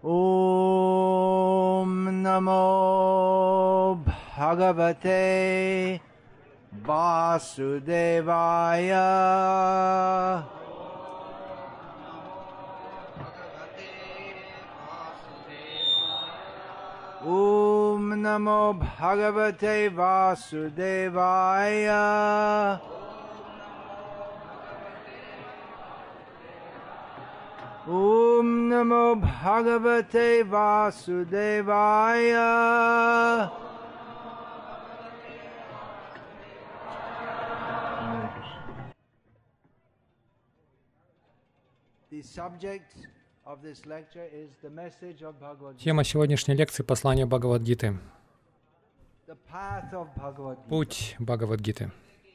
Om Namo Bhagavate Vasudevaya. Om Namo Bhagavate Vasudevaya. Om Namo Bhagavate Vasudevaya. The subject of this lecture is the message of Bhagavad Gita. Тема сегодняшней лекции — послание Бхагавад-гиты. The path of Bhagavad Gita. Путь Бхагавад-гиты.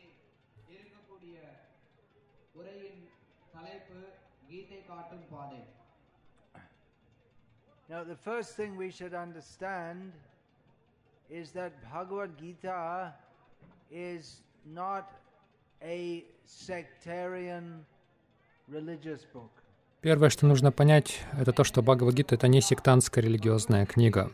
Now, the first thing we should understand is that Bhagavad Gita is not a sectarian religious book. Первое, что нужно понять, это то, что Бхагавад-гита — это не сектантская религиозная книга.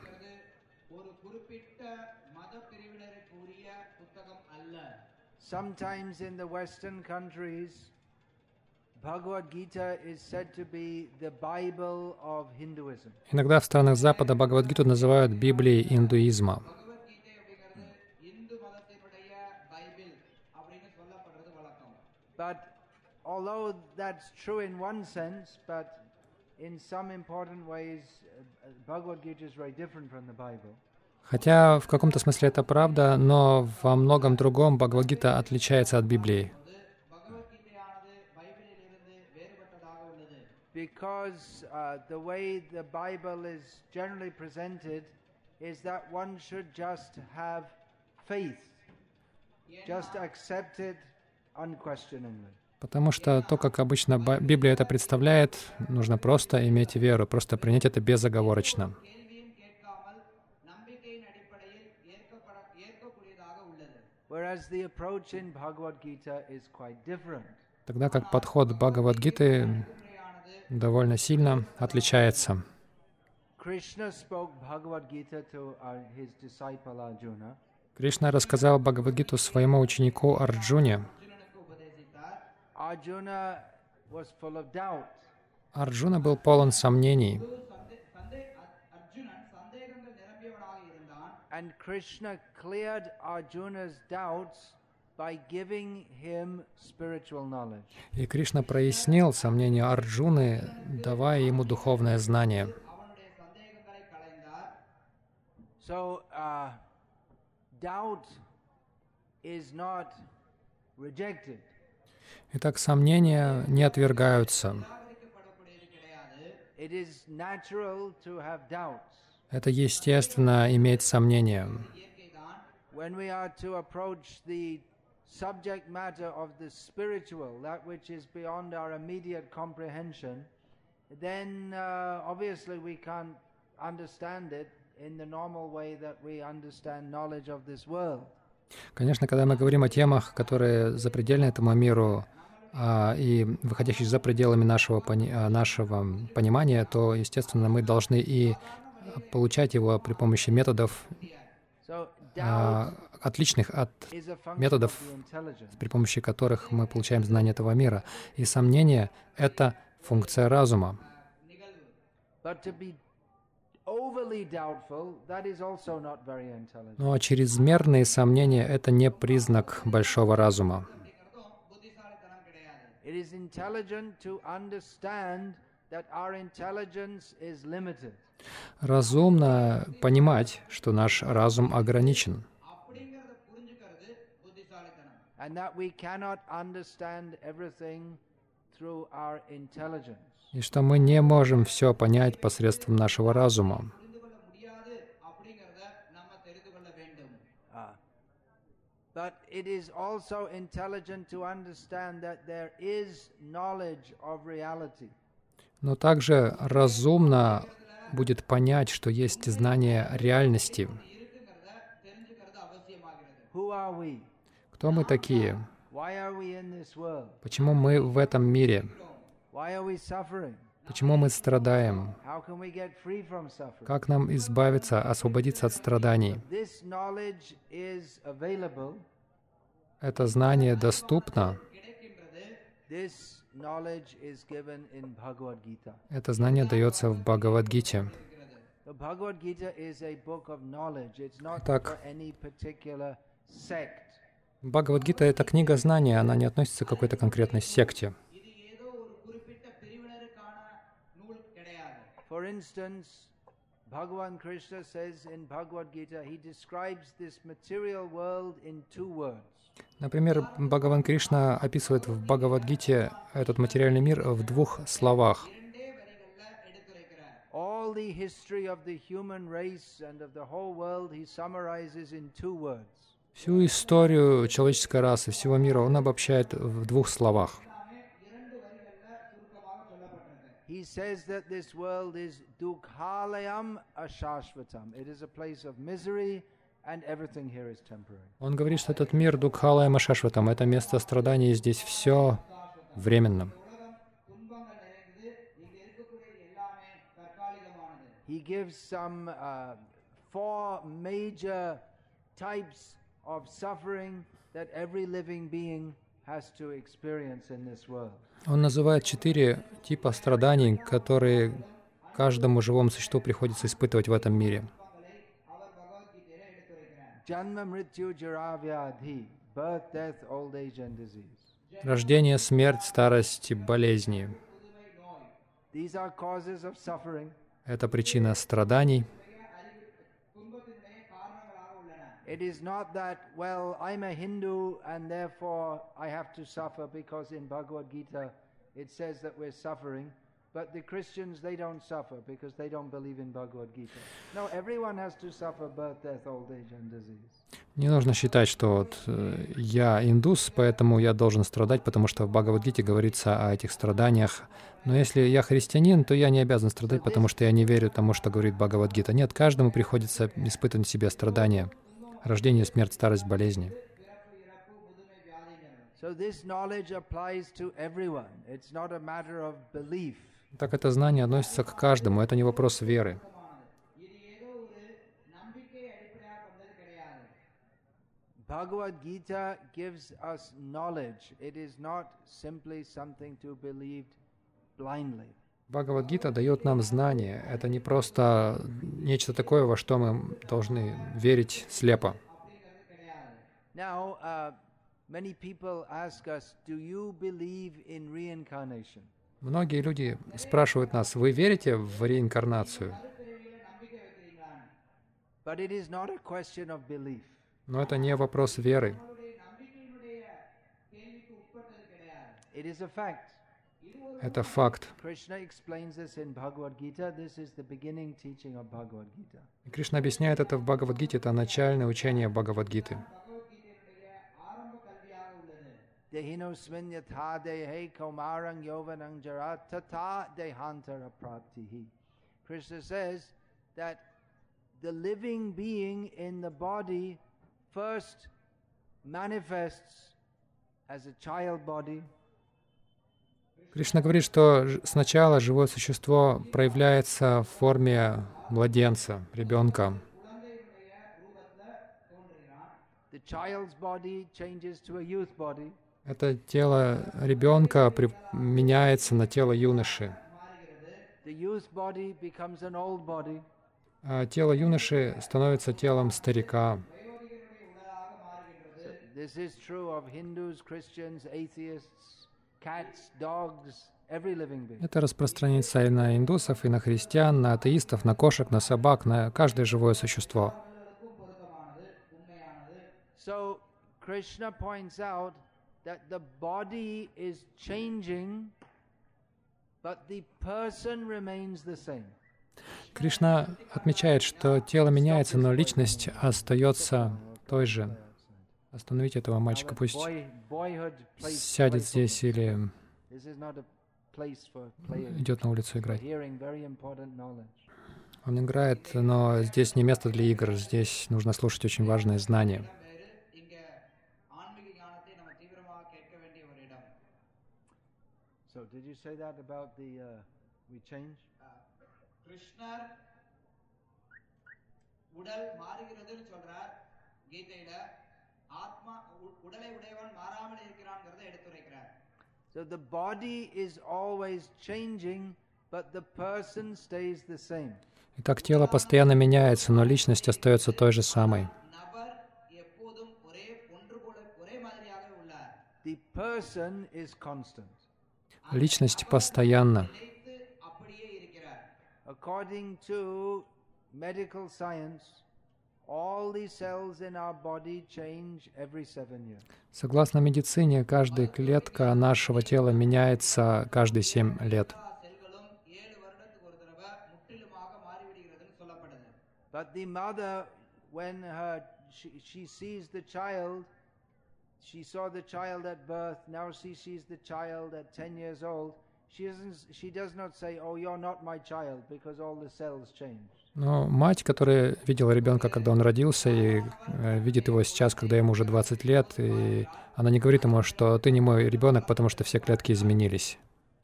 Sometimes in the Western countries, Bhagavad Gita is said to be the Bible of Hinduism. Иногда в странах Запада Бхагавад-гиту называют Библией индуизма. But although that's true in one sense, but in some important ways, Bhagavad Gita is very different from the Bible. Хотя в каком-то смысле это правда, но во многом другом Бхагавад-гита отличается от Библии. Because the way the Bible is generally presented is that one should just have faith, just accept it unquestioningly. Потому что то, как обычно Библия это представляет, нужно просто иметь веру, просто принять это безоговорочно. Whereas the approach in Bhagavad Gita is quite different. Тогда как подход Бхагавад-гиты довольно сильно отличается. Krishna spoke Bhagavad Gita to his disciple Arjuna. Кришна рассказал Бхагавад-гиту своему ученику Арджуне. Arjuna was full of doubt. Арджуна был полон сомнений. And Krishna cleared Arjuna's doubts by giving him spiritual knowledge. И Кришна прояснил сомнения Арджуны, давая ему духовное знание. So, doubt is not rejected. Итак, сомнения не отвергаются. It is natural to have doubts. Это естественно иметь сомнения. When we are to approach the subject matter of the spiritual, that which is beyond our immediate comprehension, then obviously we can't understand it in the normal way that we understand knowledge of this world. Конечно, когда мы говорим о темах, которые запредельны этому миру и выходящие за пределами нашего понимания, то, естественно, мы должны и получать его при помощи методов, отличных от методов, при помощи которых мы получаем знания этого мира. И сомнение — это функция разума. Но чрезмерные сомнения — это не признак большого разума. Разумно понимать, что наш разум ограничен, и что мы не можем все понять посредством нашего разума. But it is also intelligent to understand that there is knowledge of reality. Но также разумно будет понять, что есть знание реальности. Кто мы такие? Почему мы в этом мире? Почему мы страдаем? How can we get free from suffering? Как нам избавиться, освободиться от страданий? This knowledge is available. Это знание доступно. This knowledge is given in Bhagavad Gita. Это знание дается в Бхагавад-гите. The Bhagavad Gita is a book of knowledge. It's not Итак, for any particular sect. Бхагавад-гита — это книга знания, она не относится к какой-то конкретной секте. For instance, Bhagavan Krishna says in Bhagavad Gita, he describes this material world in 2 words. Например, Бхагаван Кришна описывает в Бхагавад-гите этот материальный мир в 2 словах. All the history of the human race and of the whole world he summarizes in 2 words. Всю историю человеческой расы, всего мира он обобщает в 2 словах. He says that this world is dukhalayam ashashvatam. It is a place of misery and everything here is temporary. Он говорит, что этот мир Дукхалаям Ашашватам — это место страданий, и здесь все временно. He gives some 4 major types of suffering that every living being has to experience in this world. Он называет 4 типа страданий, которые каждому живому существу приходится испытывать в этом мире. Janma, mrityu, jara, vyadhi, birth, death, old age and disease. Рождение, смерть, старость и болезни. These are causes of suffering. Это причина страданий. It is not that, well, I'm a Hindu and therefore I have to suffer because in Bhagavad Gita it says that we're suffering, but the Christians, they don't suffer because they don't believe in Bhagavad Gita. No, everyone has to suffer birth, death, old age and disease. Не нужно считать, что вот я индус, поэтому я должен страдать, потому что в Бхагавад-гите говорится о этих страданиях. Но если я христианин, то я не обязан страдать, потому что я не верю тому, что говорит Бхагавад-гита. Нет, каждому приходится испытывать в себе страдания. Рождение, смерть, старость, болезни. Так это знание относится к каждому, это не вопрос веры. Bhagavad Gita gives us knowledge. It is not simply something to believe blindly. Бхагавад-гита дает нам знание. Это не просто нечто такое, во что мы должны верить слепо. Now, many people ask us, do you believe in reincarnation? Многие люди спрашивают нас, вы верите в реинкарнацию? But it is not a question of belief. Но это не вопрос веры. It is a fact. Это факт. Krishna explains this in Bhagavad Gita. This is the beginning teaching of Bhagavad Gita. И Кришна объясняет это в Бхагавад-гите, это начальное учение Бхагавад-гиты. Dehinosmin yatha dehe kaumarang yovanang jara tata dehantara praptihi. Krishna says that the living being in the body first manifests as a child body. Кришна говорит, что сначала живое существо проявляется в форме младенца, ребенка. The child's body changes to a youth body. Это тело ребенка меняется на тело юноши. The youth body becomes an old body. А тело юноши становится телом старика. This is true of Hindus, Christians, atheists, cats, dogs, every living being. Это распространяется и на индусов, и на христиан, на атеистов, на кошек, на собак, на каждое живое существо. So Krishna points out that the body is changing, but the person remains the same. Кришна отмечает, что тело меняется, но личность остается той же. Остановите этого мальчика, пусть сядет здесь или идет на улицу играть. Он играет, но здесь не место для игр, здесь нужно слушать очень важные знания. we change. கிருஷ்ணர் உடல் மாறுகிறதுன்னு சொல்றார் கீதையில. ஆத்மா உடலை உடையவன் மாறாமல் இருக்கிறான்ங்கறத எடுத்துரைக்கிறார். So the body is always changing, but the person stays the same. Итак, тело постоянно меняется, но личность остается той же самой. The person is constant. Личность постоянна. According to medical science, all the cells in our body change every 7 years. Согласно медицине, каждая клетка нашего тела меняется каждые 7 лет. But the mother, when she sees the child, she saw the child at birth, now she sees the child at 10 years old, she does not say, oh, you're not my child, because all the cells changed. Но мать, которая видела ребенка, когда он родился, и видит его сейчас, когда ему уже 20 лет, и она не говорит ему, что ты не мой ребенок, потому что все клетки изменились.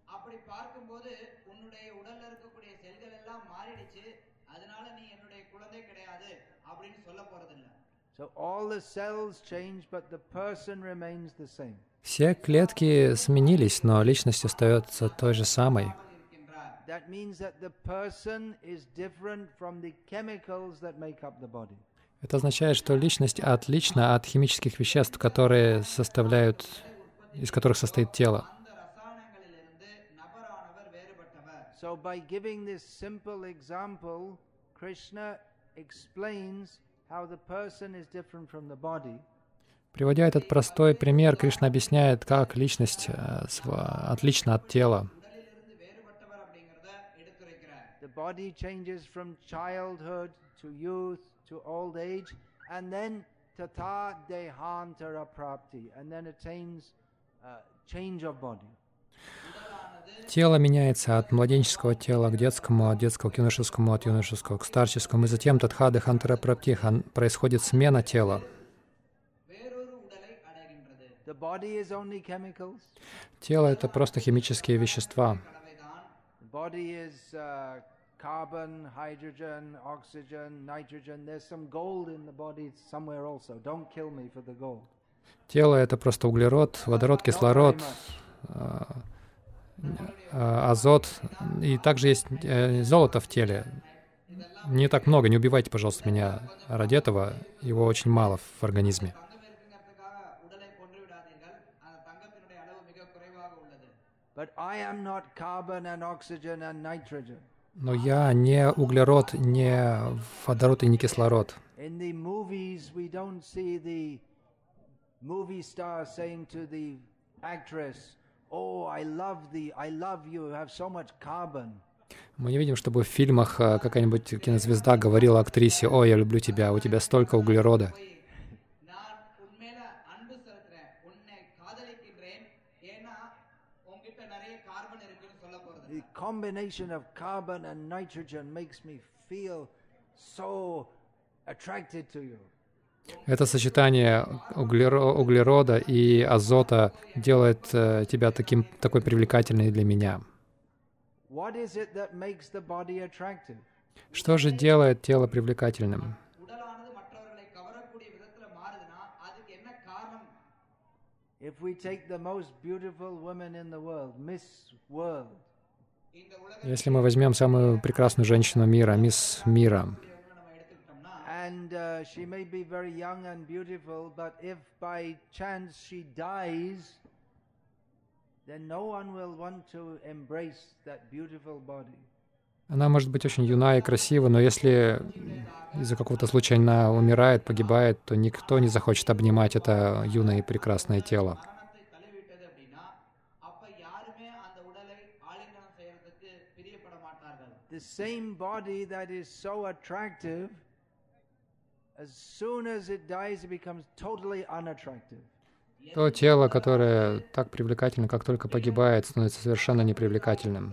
So all the cells change, but the person remains the same. Все клетки сменились, но личность остается той же самой. That means that the person is different from the chemicals that make up the body. Это означает, что личность отлична от химических веществ, которые составляют, из которых состоит тело. So by giving this simple example, Krishna explains how the person is different from the body. Приводя этот простой пример, Кришна объясняет, как личность отлична от тела. The body changes from childhood to youth to old age, and then tata dehantara prapti, and then attains change of body. Тело меняется от младенческого тела к детскому, от детского к юношескому, от юношеского к старческому, и затем татха дехантара прапти, происходит смена тела. The body is only chemicals. Тело — это просто химические вещества. The body is carbon, hydrogen, oxygen, nitrogen. There's some gold in the body somewhere also. Don't kill me for the gold. Тело — это просто углерод, водород, кислород, азот. И также есть золото в теле. Не так много, не убивайте, пожалуйста, меня ради этого. Его очень мало в организме. But I am not carbon and oxygen and nitrogen. Но я не углерод, не водород и не кислород. In the movies, we don't see the movie star saying to the actress, "Oh, I love you have so much carbon." Мы не видим, чтобы в фильмах какая-нибудь кинозвезда говорила актрисе: «О, я люблю тебя, у тебя столько углерода». The combination of carbon and nitrogen makes me feel so attracted to you. Это сочетание углерода и азота делает тебя такой привлекательной для меня. What is it that makes the body attractive? Что же делает тело привлекательным? If we take the most beautiful woman in the world, Miss World, Если мы возьмем самую прекрасную женщину мира, мисс мира, and she may be very young and beautiful, but if by chance she dies, then no one will want to embrace that beautiful body. она может быть очень юна и красива, но если из-за какого-то случая она умирает, погибает, то никто не захочет обнимать это юное и прекрасное тело. The same body that is so attractive, as soon as it dies, it becomes totally unattractive. То тело, которое так привлекательно, как только погибает, становится совершенно непривлекательным.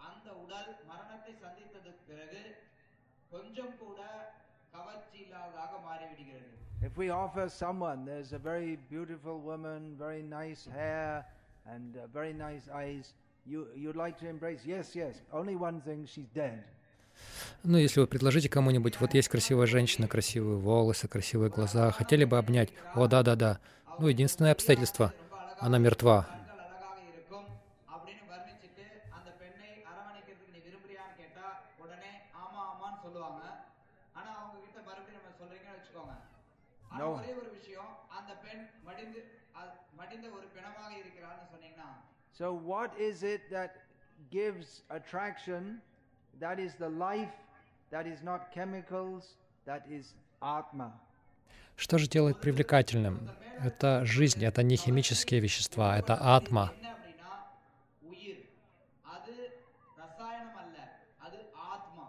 If we offer someone, there's a very beautiful woman, very nice hair, and very nice eyes, you'd like to embrace, yes, only one thing, she's dead. Ну, если вы предложите кому-нибудь, вот есть красивая женщина, красивые волосы, красивые глаза, хотели бы обнять? О, да. Ну, единственное обстоятельство, она мертва. கண்கள் அழகாக இருக்கும் அப்படின்னு வர்ணிச்சிட்டு அந்த பெண்ணை அரவணைக்கிறதுக்கு நீ விரும்புறியான்னு கேட்டா உடனே ஆமா ஆமான்னு சொல்லுவாங்க. ஆனா அவங்க கிட்ட மறுபடியும் நம்ம சொல்றீங்கன்னு வச்சுக்கோங்க. ஆனா ஒரே ஒரு விஷயம், அந்த பெண் மடிந்த ஒரு பிணமாக இருக்கிறான்னு சொன்னீங்கன்னா. So what is it that gives attraction? That is the life, that is not chemicals, that is Atma. Что же делает привлекательным? Это жизнь, это не химические вещества, это атма. என்ன அப்படின்னா உயிர். அது ரசாயனம் அல்ல, அது ஆத்மா.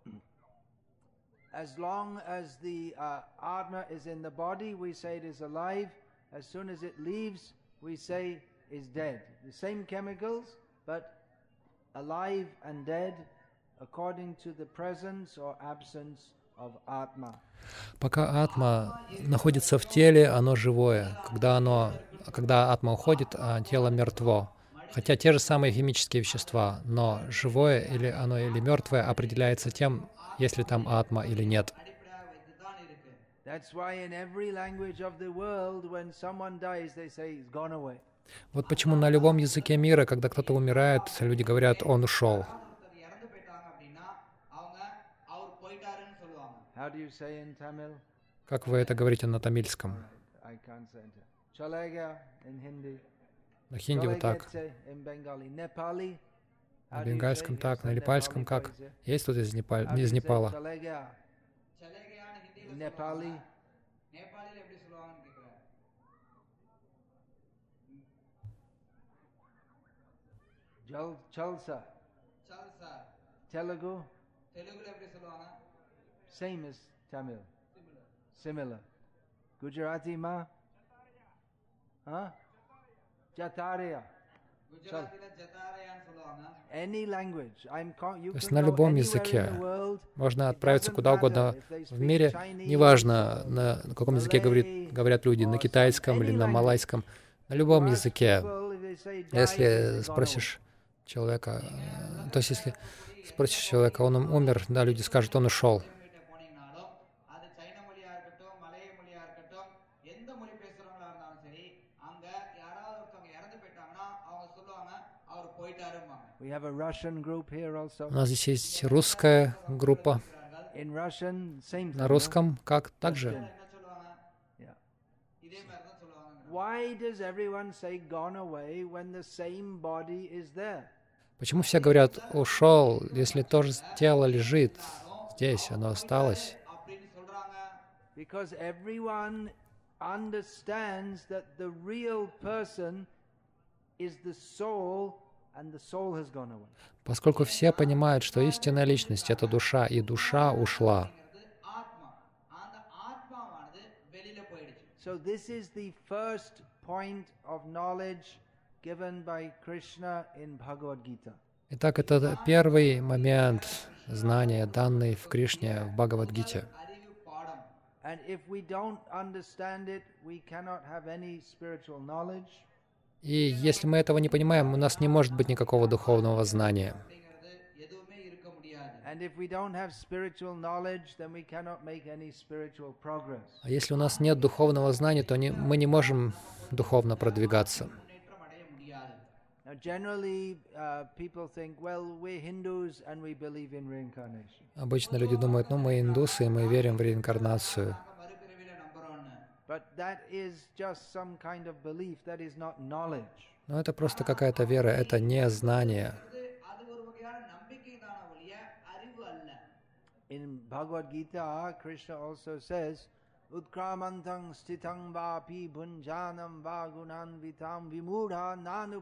As long as the Atma is in the body, we say it is alive. As soon as it leaves, we say is dead. The same chemicals, but alive and dead according to the presence or absence of Atma. Пока атма находится в теле, оно живое. Когда атма уходит, тело мертво. Хотя те же самые химические вещества, но живое или мертвое определяется тем, есть ли там атма или нет. That's why in every language of the world, when someone dies, they say he's gone away. Вот почему на любом языке мира, когда кто-то умирает, люди говорят, он ушел. How do you say in Tamil? Как вы это говорите на тамильском? I can't say it. Chalega in Hindi. На хинди вот так, In Bengali. Nepali. на бенгальском так, на непальском как. Есть тут из Непала? Chalega. Nepali. நேபாளில எப்படி சொல்லுவாங்கன்னு கேக்குறேன். Chalsa. சல்சா. Telugu. தெலுங்குல எப்படி சொல்லுவாங்க? Same as Tamil. Similar. Gujarati ma? Huh? Jataria. குஜராத்தில ஜதாரயான்னு சொல்லுவாங்க. Any language. You То есть can на go любом anywhere языке in the world. можно It отправиться doesn't куда угодно matter if they в speak мире, Chinese, неважно, на каком языке говорят люди, на китайском или на малайском, на любом Ask языке. people if they say die, Если they've gone спросишь человека, то есть если спросишь человека, он умер, да, люди скажут, он ушел. கிட்ட போனீங்கனாலும் அது சைன மொழியா இருக்கட்டும், மலைய மொழியா இருக்கட்டும், எந்த மொழி பேசுறவங்களா இருந்தாலும் சரி, அங்க யாராவது ஒருத்தவங்க இறந்து போயிட்டாங்கன்னா அவங்க சொல்லுவாங்க அவர் போயிட்டாரும்பாங்க. We have a Russian group here also. У нас здесь есть русская группа. In Russian, same На thing. русском как? Также. என்ன சொல்லுவாங்க? Yeah. இதே மாதிரி தான் சொல்லுவாங்க. Why does everyone say gone away when the same body is there? Почему все говорят «ушел», если тоже тело лежит здесь, оно осталось? அப்படின்னு சொல்றாங்க. Because everyone understands that the real person is the soul and the soul has gone away. Поскольку все понимают, что истинная личность — это душа, и душа ушла. ஆத்மா. அந்த ஆத்மாவானது வெளியில போயிடுச்சு. So this is the first point of knowledge given by Krishna in Bhagavad Gita. Итак, это первый момент знания, данный в Кришне, в Бхагавад-гите. அறிவு பாடம். And if we don't understand it, we cannot have any spiritual knowledge. И если мы этого не понимаем, у нас не может быть никакого духовного знания. அப்படிங்கிறது எதுவுமே இருக்க முடியாது. And if we don't have spiritual knowledge, then we cannot make any spiritual progress. А если у нас нет духовного знания, то мы не можем духовно продвигаться. முன்னேற்றம் அடைய முடியாது. Now, generally, people think, well, we're Hindus and we believe in reincarnation. Обычно люди думают, мы индусы, и мы верим в реинкарнацию. நாங்க மறுபிறவியில நம்புறோம்னு. But that is just some kind of belief, that is not knowledge. Но это просто какая-то вера, это не знание. அது ஒரு வகையான நம்பிக்கை தான ஒழிய அறிவு அல்ல. In Bhagavad Gita, Krishna also says, Utkramantang stitang vapi bhunjanam vagunan vitam vimudha nanu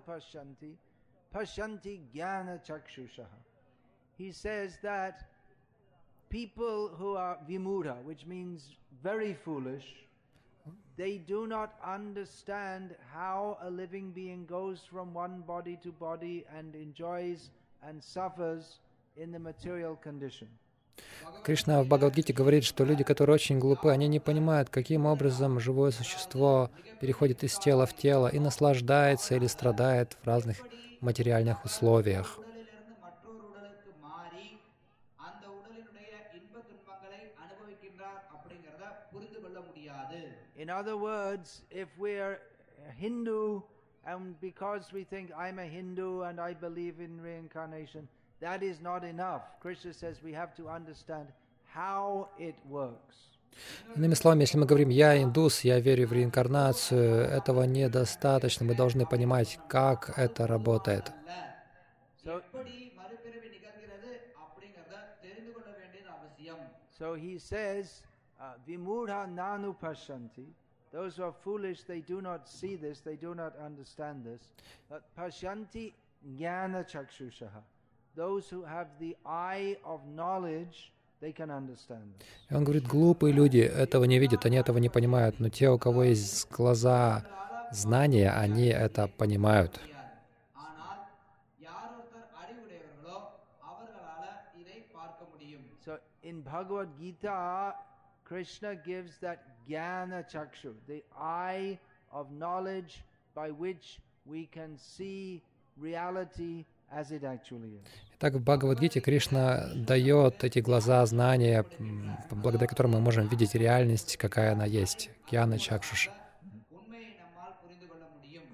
pashanti jnana chakshushaha. He says that people who are vimudha, which means very foolish, they do not understand how a living being goes from one body to body and enjoys and suffers in the material condition. Кришна в Бхагавад-гите говорит, что люди, которые очень глупы, они не понимают, каким образом живое существо переходит из тела в тело и наслаждается или страдает в разных материальных условиях. உடலிலிருந்து மற்றொரு உடலுக்கு மாறி அந்த உடலினுடைய இன்ப துன்பங்களை அனுபவிக்கின்றார் அப்படிங்கறத புரிந்து கொள்ள முடியாது. In other words, if we are a Hindu and because we think I'm a Hindu and I believe in reincarnation, that is not enough. Krishna says we have to understand how it works. Иными словами, если мы говорим «я индус, я верю в реинкарнацию», этого недостаточно. Мы должны понимать, как это работает. எப்படி மறுபிறவி நிகழ்கிறது அப்படிங்கறத தெரிந்து கொள்ள வேண்டியது அவசியம். So he says, Vimudha nanu pashanti. Those who are foolish, they do not see this, they do not understand this. But pashanti jnana chakshushaha. Those who have the eye of knowledge, they can understand this. И он говорит, глупые люди этого не видят, они этого не понимают, но те, у кого есть глаза знания, они это понимают. ஆனால் யார் ஒருத்தர் அறிவுடையவர்களோ அவர்களால இதை பார்க்க முடியும். So in Bhagavad Gita, Krishna gives that jnana chakshu, the eye of knowledge by which we can see reality as it actually is. Итак, в Бхагавад-гите Кришна дает эти глаза знания, благодаря которым мы можем видеть реальность, какая она есть. Гьяна Чакшуша. உண்மையை நம்மால் புரிந்து கொள்ள முடியும்.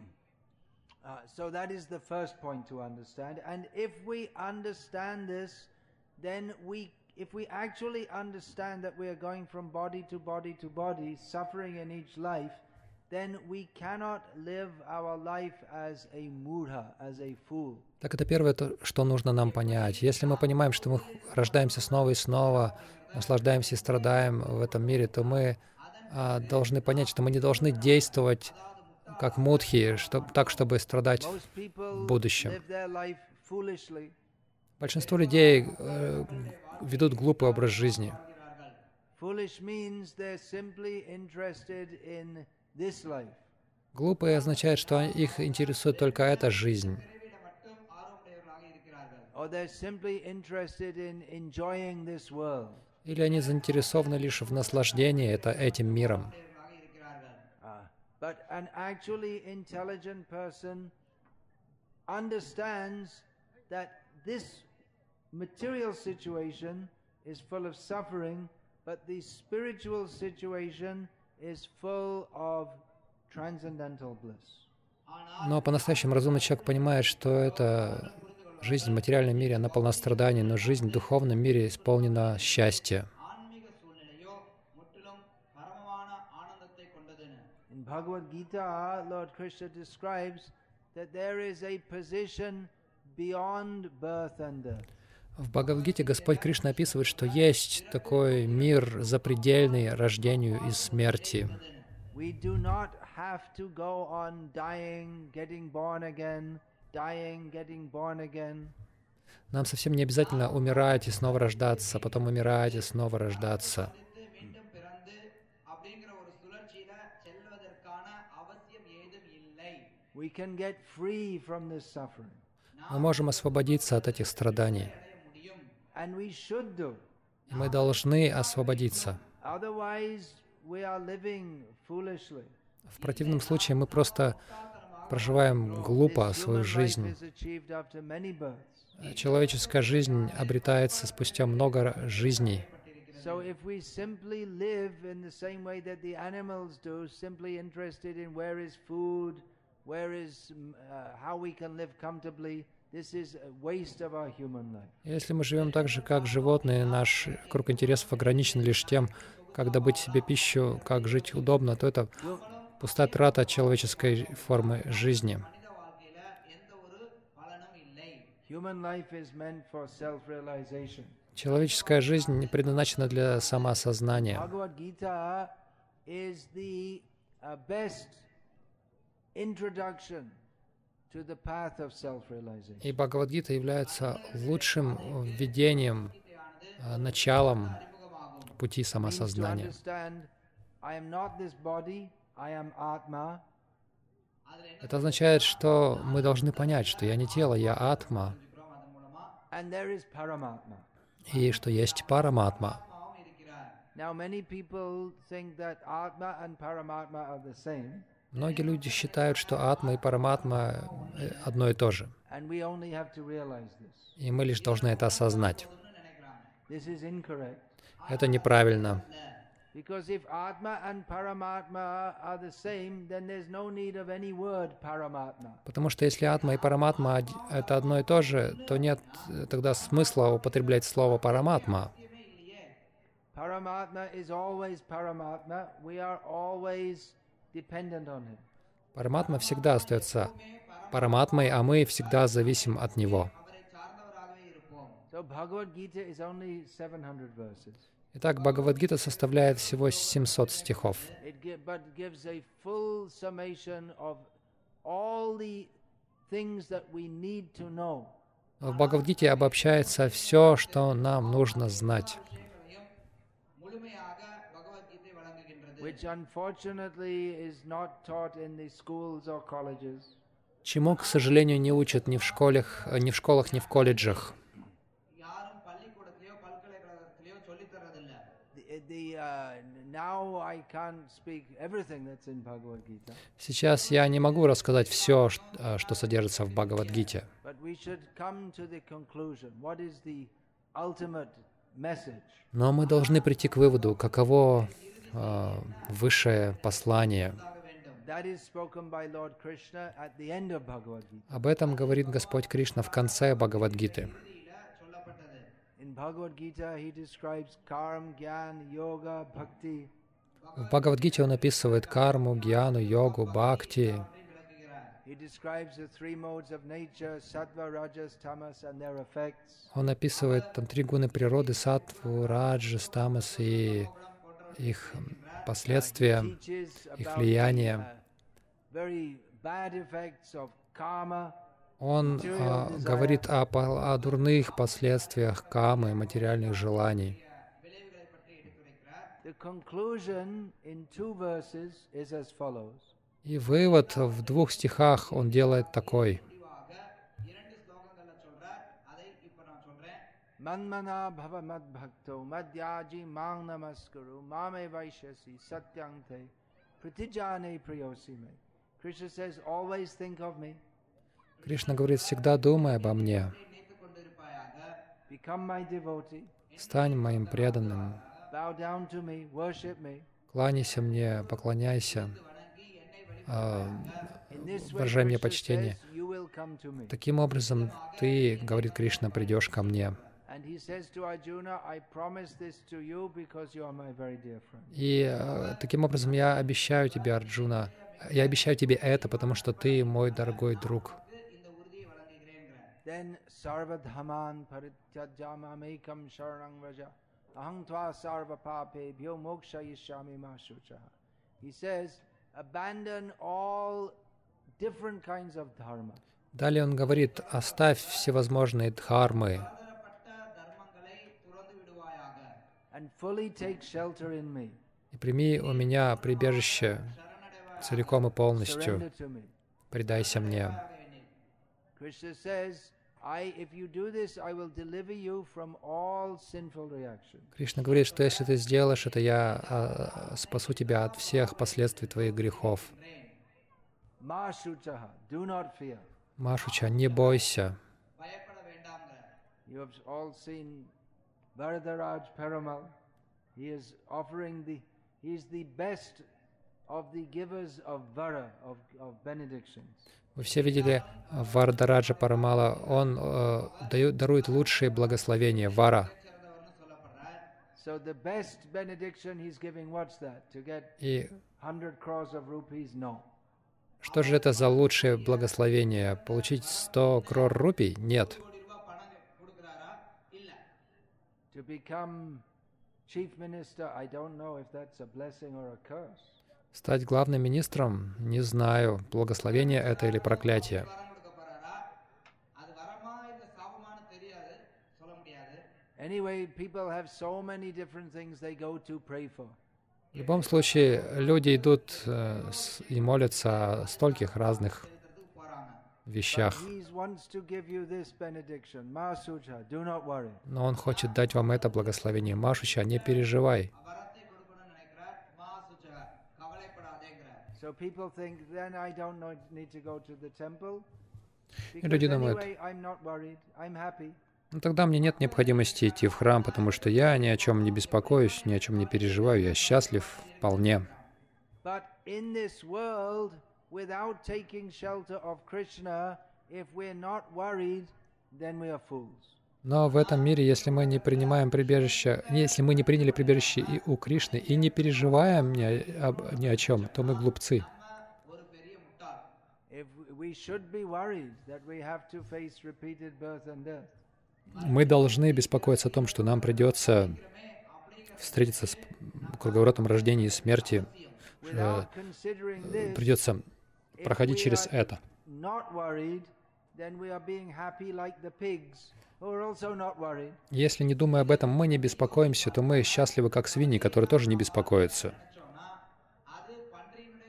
So that is the first point to understand. And if we understand this, then if we actually understand that we are going from body to body to body, suffering in each life, then we cannot live our life as a mudha, as a fool. Так это первое, что нужно нам понять. Если мы понимаем, что мы рождаемся снова и снова, наслаждаемся и страдаем в этом мире, то мы должны понять, что мы не должны действовать как мудхи, так, чтобы страдать в будущем. Большинство людей ведут глупый образ жизни. Глупые означает, что их интересует только эта жизнь. Или они заинтересованы лишь в наслаждении этим миром. But an actually intelligent person understands that this material situation is full of suffering, but the spiritual situation is full of transcendental bliss. Но по-настоящему разумный человек понимает, что эта жизнь в материальном мире, она полна страданий, но жизнь в духовном мире исполнена счастья. In Bhagavad Gita, Lord Krishna describes that there is a position beyond birth and death. В Бхагавад-гите Господь Кришна описывает, что есть такой мир запредельный рождению и смерти. We do not have to go on dying, getting born again, dying, getting born again. Нам совсем не обязательно умирать и снова рождаться, потом умирать и снова рождаться. We can get free from this suffering. Мы можем освободиться от этих страданий. And we should do. И мы должны освободиться. Otherwise, we are living foolishly. В противном случае мы просто проживаем глупо свою жизнь. Человеческая жизнь обретается спустя много жизней. So if we simply live in the same way that the animals do, simply interested in where is food, how we can live comfortably, this is a waste of our human life. Если мы живем так же, как животные, наш круг интересов ограничен лишь тем, как добыть себе пищу, как жить удобно, то это пустая трата человеческой формы жизни. Человеческая жизнь не предназначена для самоосознания. И Бхагавад-гита является лучшим введением, началом пути самосознания. Это означает, что мы должны понять, что я не тело, я атма, и что есть параматма. Многие люди считают, что атма и параматма одно и то же. And we only have to realize this. И мы лишь должны это осознать. போதும்னு நினைக்கிறாங்க. This is incorrect. Это неправильно. Because if Atma and Paramatma are the same, then there's no need of any word Paramatma. Потому что если атма и параматма это одно и то же, то нет тогда смысла употреблять слово параматма. Paramatma is always Paramatma. We are always dependent on him. Параматма всегда остается параматмой, а мы всегда зависим от него. அவரை சார்ந்தவராகவே இருப்போம். So Bhagavad Gita is only 700 verses. Итак, Бхагавад-гита составляет всего 700 стихов, But gives a full summation of all the things that we need to know. в Бхагавад-гите обобщается все, что нам нужно знать, முழுமையாக பகவத்கீதை வழங்குகின்றது. Which unfortunately is not taught in the schools or colleges. чему, к сожалению, не учат ни в школах, ни в колледжах. யாரும் பள்ளிக்கூடத்திலேயோ பல்கலைக்கழகத்திலேயோ சொல்லித் தரதில்லை. Now I can't speak everything that's in Bhagavad Gita. Сейчас я не могу рассказать все, что содержится в Бхагавад-гите, But we should come to the conclusion. What is the ultimate message? но мы должны прийти к выводу, каково высшее послание. That is spoken by Lord Krishna at the end of Bhagavad Gita. Об этом говорит Господь Кришна в конце Бхагавад-гиты. சொல்லப்பட்டது. In Bhagavad Gita, he describes karma, jnana, yoga, bhakti. В Бхагавад-гите он описывает карму, гьяну, йогу, бхакти. He describes the three modes of nature, sattva, rajas, tamas, and their effects. Он описывает там 3 гуны природы, саттву, раджас, тамас и их последствия, Teaches их about влияние. very bad effects of karma. Он говорит о дурных последствиях камы, материальных желаний. விளைவுகளை பற்றி எடுத்துரைக்கிறார். The conclusion in 2 verses is as follows. И вывод в 2 стихах он делает такой. முடிவாக 2 ஸ்லோகங்கள்ல சொல்றார். அதை இப்ப நான் சொல்றேன். Manmana bhava mad bhakto madhyaji mang namaskuru mame vaishyasi satyante pratijane priyosi me. Krishna says, always think of me, Кришна говорит, всегда думай обо мне, நினைத்துக் கொண்டிருப்பாயாக. become my devotee, стань моим преданным, bow down to me, worship me. кланяйся мне, поклоняйся, In this way, выражай мне Krishna почтение. says, you will come to me. Таким образом, ты, говорит Кришна, придешь ко мне. And he says to Arjuna, I promise this to you because you are my very dear friend. И таким образом я обещаю тебе, Арджуна, я обещаю тебе это, потому что ты мой дорогой друг. இந்த உறுதியை வழங்குகிறேன்கிறார். Then sarvadhaman parityajamamekam sharanam vraja aham tva sarva papebhyo mokshayishyami ma shuchaha. He says, abandon all different kinds of dharma. Далее он говорит, оставь всевозможные дхармы பலதரப்பட்ட தர்மங்களை துறந்து விடுவாயாக. And fully take shelter in me. и прими у меня прибежище целиком и полностью. Surrender to me. Предайся мне. Krishna says, if you do this, I will deliver you from all sinful reactions. Кришна говорит, что если ты сделаешь это, я спасу тебя от всех последствий твоих грехов. Ma shuchaha, do not fear. Машуча, не бойся. பயப்பட வேண்டாம்ங்கிறார். You have all seen Varadaraj Perumal. He is offering he is the best of the givers of vara, of benedictions. Вы все видели Варадараджа Парамала, он дарует лучшие благословения, вара. சேர்ந்தவர்னு சொல்லப்படுறார். So the best benediction he's giving, what's that? To get И 100 crores of rupees? No. что же это за лучшее благословение? Получить 100 крор рупий? Нет. கோடி ரூபாய் பணம் கொடுக்கிறாரா? இல்ல. To become chief minister, I don't know if that's a blessing or a curse. Стать главным министром? Не знаю, благословение это или проклятие. வரம் கொடுக்க போறாரா? அது வரமா இல்ல சாபமானு தெரியாது, சொல்ல முடியாது. Anyway, people have so many different things they go to pray for. В любом случае, люди идут и молятся о стольких разных எடுத்துட்டு போறாங்க. вещах. He wants to give you this benediction. Ma Sucha, do not worry. Но он хочет дать вам это благословение. Машуча, не переживай. வரத்தை கொடுக்கணும்னு நினைக்கிறார். மா சுச்ச கவலைப்படாதேங்கிறார். So people think then I don't need to go to the temple И because люди думают, anyway I'm not worried, I'm happy. ну тогда мне нет необходимости идти в храм, потому что я ни о чем не беспокоюсь, ни о чем не переживаю, я счастлив вполне. But in this world, without taking shelter of Krishna, if we're not worried, then we are fools. Но в этом мире, если мы не принимаем прибежище, если мы не приняли прибежище и у Кришны, и не переживаем ни о чем, то мы глупцы. ஒரு பெரிய முட்டாள். If we should be worried that we have to face repeated birth and death. Мы должны беспокоиться о том, что нам придется встретиться с круговоротом рождения и смерти, Without considering this, придется if проходить we через are это. not worried, then we are being happy like the pigs, who are also not worried. Если не думая об этом, мы не беспокоимся, то мы счастливы, как свиньи, которые тоже не беспокоятся. நினைச்சோம்னா அது பன்றியினுடைய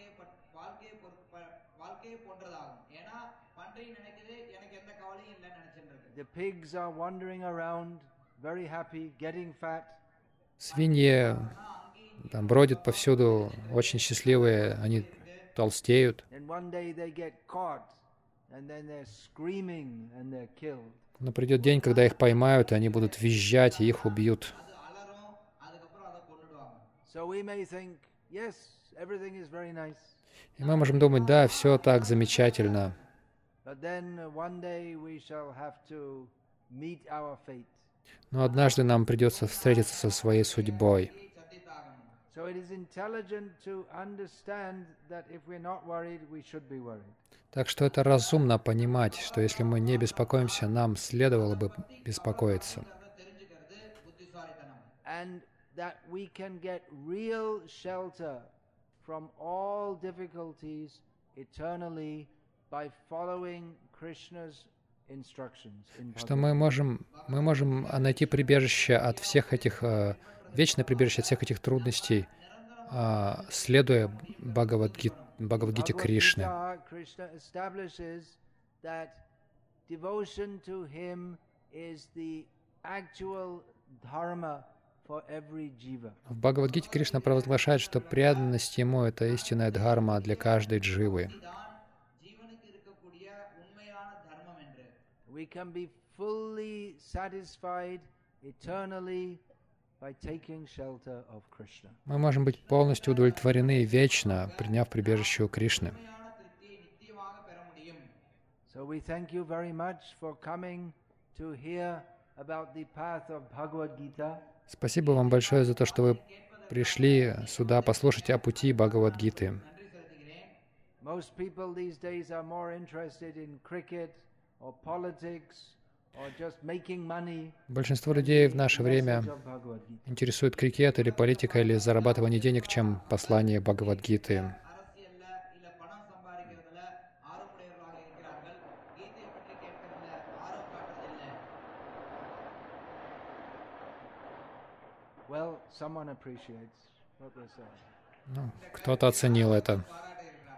வாழ்க்கையை போன்றதாகும். ஏன்னா பன்றி நினைக்குது எனக்கு எந்த கவலையும் இல்லைன்னு நினைச்சிட்டு இருக்கு. The pigs are wandering around, very happy, getting fat. Свиньи там бродят повсюду, очень счастливые, они толстеют. And one day they get caught, and then they're screaming and they're killed. Но придет день, когда их поймают, и они будут визжать, и их убьют. அது அலறும், அதுக்கப்புறம் அதை கொன்னுடுவாங்க. So we may think, yes, everything is very nice. И мы можем думать, да, все так замечательно. But then one day we shall have to meet our fate. Но однажды нам придется встретиться со своей судьбой. சத்தித்தாகணும். So it is intelligent to understand that if we're not worried, we should be worried. Так что это разумно понимать, что если мы не беспокоимся, нам следовало бы беспокоиться. அதை தெரிஞ்சுக்கிறது புத்திசாலித்தனம். And that we can get real shelter from all difficulties eternally by following Krishna's instructions in Что Bhagavad мы можем найти прибежище от всех этих, вечное прибежище от всех этих трудностей, следуя Бхагавад-гите Кришны. Gita, Krishna establishes that devotion to him is the actual dharma for every jiva. В Бхагавад-гите Кришна провозглашает, что преданность Ему — это истинная дхарма для каждой дживы. இதுதான் ஜீவனுக்கு இருக்கக்கூடிய உண்மையான தர்மம் என்று. We can be fully satisfied eternally by taking shelter of Krishna. Мы можем быть полностью удовлетворены вечно, приняв прибежище у Кришны. உண்மையான திருப்தியை நித்தியமாக பெற முடியும். So we thank you very much for coming to hear about the path of Bhagavad Gita. Спасибо вам большое за то, что вы пришли сюда послушать о пути Бхагавад-гиты. நன்றி செலுத்துகிறேன். Most people these days are more interested in cricket or politics or just making money. Большинство людей в наше время Message of Bhagavad Gita. интересует крикет или политика или зарабатывание денег, чем послание Бхагавад-гиты. அரசியல்ல இல்ல பணம் சம்பாதிக்கிறதுல ஆர்வமுடையவர்களாக இருக்கிறார்கள். கீதையை பற்றி கேட்கறதுல ஆர்வம் காட்டுறதில்லை. Well, someone appreciates what we're saying. Ну, кто-то оценил это. பாராட்ட இருக்கிறாங்க.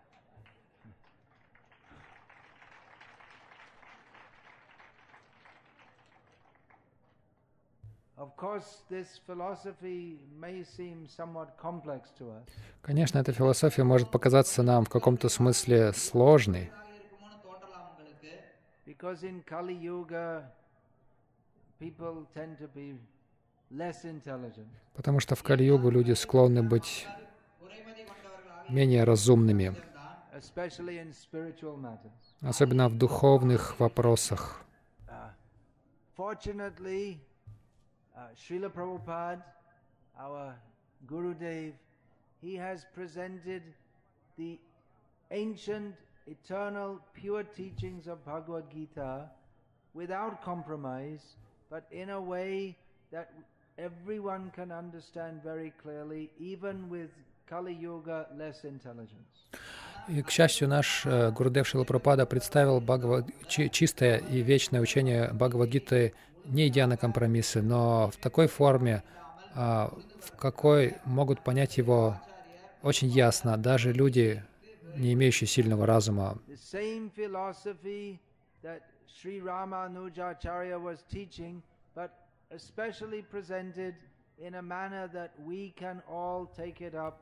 Of course, this philosophy may seem somewhat complex to us. Конечно, эта философия может показаться нам в каком-то смысле сложной, இருக்குமோன்னு தோன்றலாம் உங்களுக்கு. Because in Kali Yuga, people tend to be less intelligent. потому что в Кали-югу люди склонны быть குறைமதி கொண்டவர்களாக менее разумными, இருந்தான். Especially in spiritual matters. особенно в духовных вопросах. Fortunately, Srila Prabhupada, our Gurudev, he has presented the ancient, eternal, pure teachings of Bhagavad Gita without compromise, but in a way that everyone can understand very clearly, even with Kali Yuga less intelligence. И, к счастью, наш Гурудев Шрила Прабхупада представил чистое и вечное учение Бхагавад-гиты, не идя на компромиссы, но в такой форме, в какой могут понять его очень ясно даже люди, не имеющие сильного разума. The same philosophy that Sri Ramanujacharya was teaching, but especially presented in a manner that we can all take it up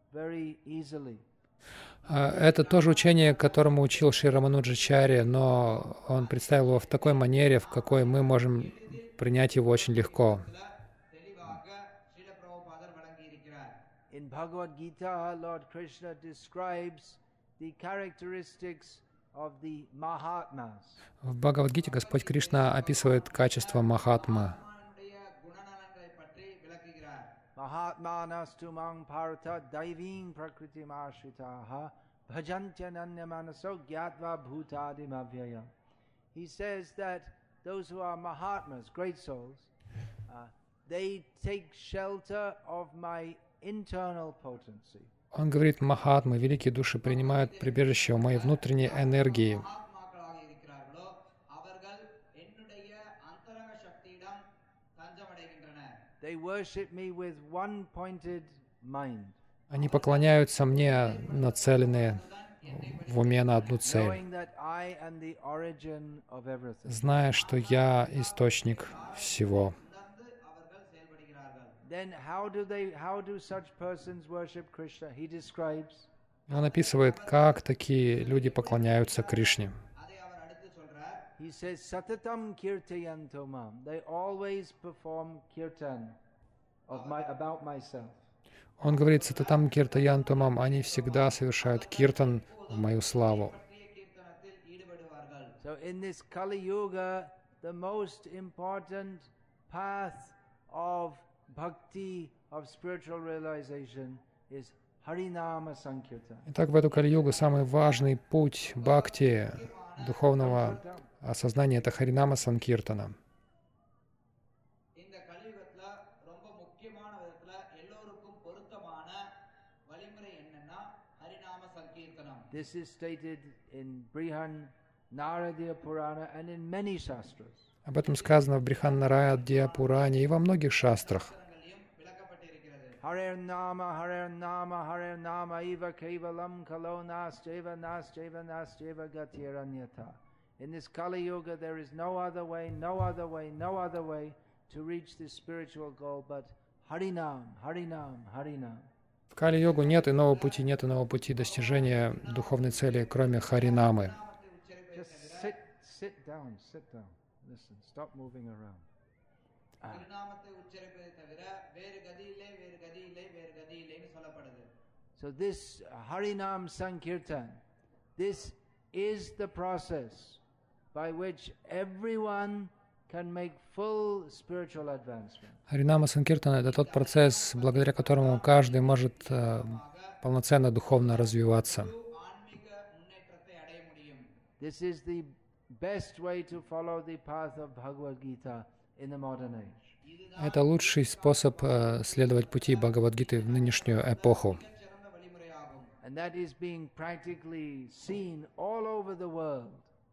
very easily. Это тоже учение, которому учил Шри Рамануджачарья, но он представил его в такой манере, в какой мы можем принять его очень легко. தெளிவாக ஸ்ரீல பிரபுபாதர் வழங்கி இருக்கிறார். In Bhagavad Gita, Lord Krishna describes the characteristics of the Mahatmas. В Бхагавад-гите Господь Кришна описывает качество Махатмы. ஆத்மானுடைய குணநலன்களை பற்றி விளக்குகிறார். Mahatmanastu mang parata daiving prakritim ashritaha bhajantyananya manaso gyatva bhutadim avyaya. He says that those who are Mahatmas, great souls, they take shelter of my internal potency. Он говорит, Махатмы, великие души, принимают прибежище у моей внутренней энергии. மகாத்மாக்களாக இருக்கிறார்களோ அவர்கள் என்னுடைய அந்தரங்க சக்தியிடம் தஞ்சமடைகின்றனர். They worship me with one-pointed mind, Они поклоняются мне, нацеленные в уме на одну цель, knowing that I am the origin of everything. зная, что я источник всего. உணர்ந்து அவர்கள் செயல்படுகிறார்கள். Then how do such persons worship Krishna? He describes Он описывает, как такие люди поклоняются Кришне. அதை அவர் அடுத்து சொல்றார். He says, Satatam kirtayanto mam. They always perform kirtan about myself. Он говорит, Сататам Киртаян Тумам, они всегда совершают киртан в мою славу. பற்றிய கீர்த்தனத்தில் ஈடுபடுவார்கள். So in this Kali Yuga, the most important path of bhakti, of spiritual realization, is Harinama Sankirtan. Итак, в эту Кали-югу самый важный путь бхакти, духовного осознания, это Харинама Санкиртана. இந்த கலியுகத்துல ரொம்ப முக்கியமான விதத்துல எல்லோருக்கும் பொருத்தமான வழிமுறை என்னன்னா ஹரிநாம சங்கீர்த்தனம். This is stated in Brihan Naradiya Purana and in many shastras. Об этом сказано в Бриханнарадья Пуране и во многих шастрах. சாஸ்திரங்களிலும் விளக்கப்பட்டிருக்கிறது. Harer Nama, Harer Nama, Eva Kevalam, Kalo Nascheva, Nascheva, Nascheva Gatiranyata. In this Kali Yuga, there is no other way, no other way, no other way to reach this spiritual goal but Harinam, Harinam, Harinam. В Кали-йогу нет иного пути достижения духовной цели, кроме Харинамы. Just sit down, listen, stop moving around. ஹரிநாமத்தை உச்சரிப்பதை தவிர வேறு கதி இல்லை, வேறு கதி இல்லை, வேறு கதி இல்லைன்னு சொல்லப்படுது. So this Harinam Sankirtan, this is the process by which everyone can make full spiritual advancement. Харинама Санкиртана — это тот процесс, благодаря которому каждый может полноценно духовно развиваться. ஆன்மீக முன்னேற்றத்தை அடைய முடியும். This is the best way to follow the path of Bhagavad Gita in the modern age. Это лучший способ следовать пути Бхагавад-гиты в нынешнюю эпоху. சிறந்த வழிமுறையாகும். And that is being practically seen all over the world.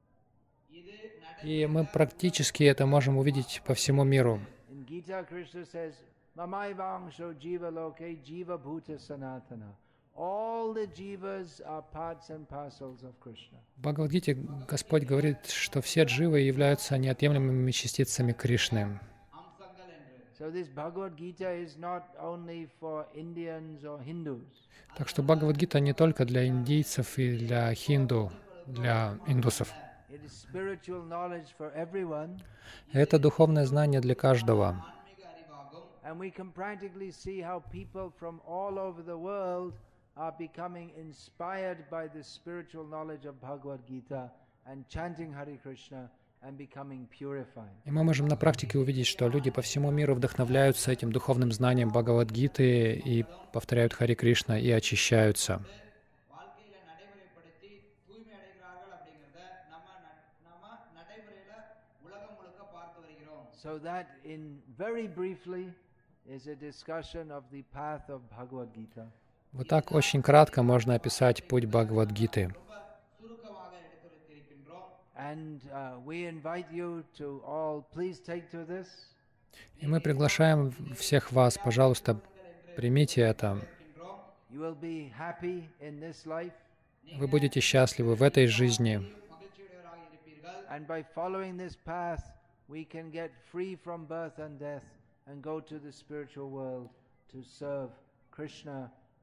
இது И мы практически это можем увидеть по всему миру. In Gita, Krishna says, Mamai vangsho jiva loke jiva bhuta sanatana. All the jivas are parts and parcels of Krishna. В Бхагавад-гите Господь говорит, что все дживы являются неотъемлемыми частицами Кришны. அம்சங்கள் என்று. So this Bhagavad Gita is not only for Indians or Hindus. Так что Бхагавад-гита не только для индийцев и для хинду, для индусов. It is spiritual knowledge for everyone. Это духовное знание для каждого. ஆன்மீக அறிவாகும். And we can practically see how people from all over the world are becoming inspired by the spiritual knowledge of Bhagavad Gita and chanting Hare Krishna and becoming purified. И мы можем на практике увидеть, что люди по всему миру вдохновляются этим духовным знанием Бхагавад-гиты и повторяют Харе Кришна и очищаются. வாழ்க்கையில நடைமுறைப்படுத்தி தூய்மை அடைகிறார்கள் அப்படிங்கறத நம்ம நடைமுறையில உலகம் முழுக்க பார்த்து வருகிறோம். So that in very briefly is a discussion of the path of Bhagavad Gita. Вот так очень кратко можно описать путь Бхагавад-гиты. ரொம்ப சுருக்கமாக எடுத்துரைத்திருக்கின்றோம். And we invite you to all please take to this. И мы приглашаем всех вас, пожалуйста, примите это. You will be happy in this life. Вы будете счастливы в этой жизни. மகிழ்ச்சியுடையவராக இருப்பீர்கள். And by following this path, we can get free from birth and death and go to the spiritual world to serve Krishna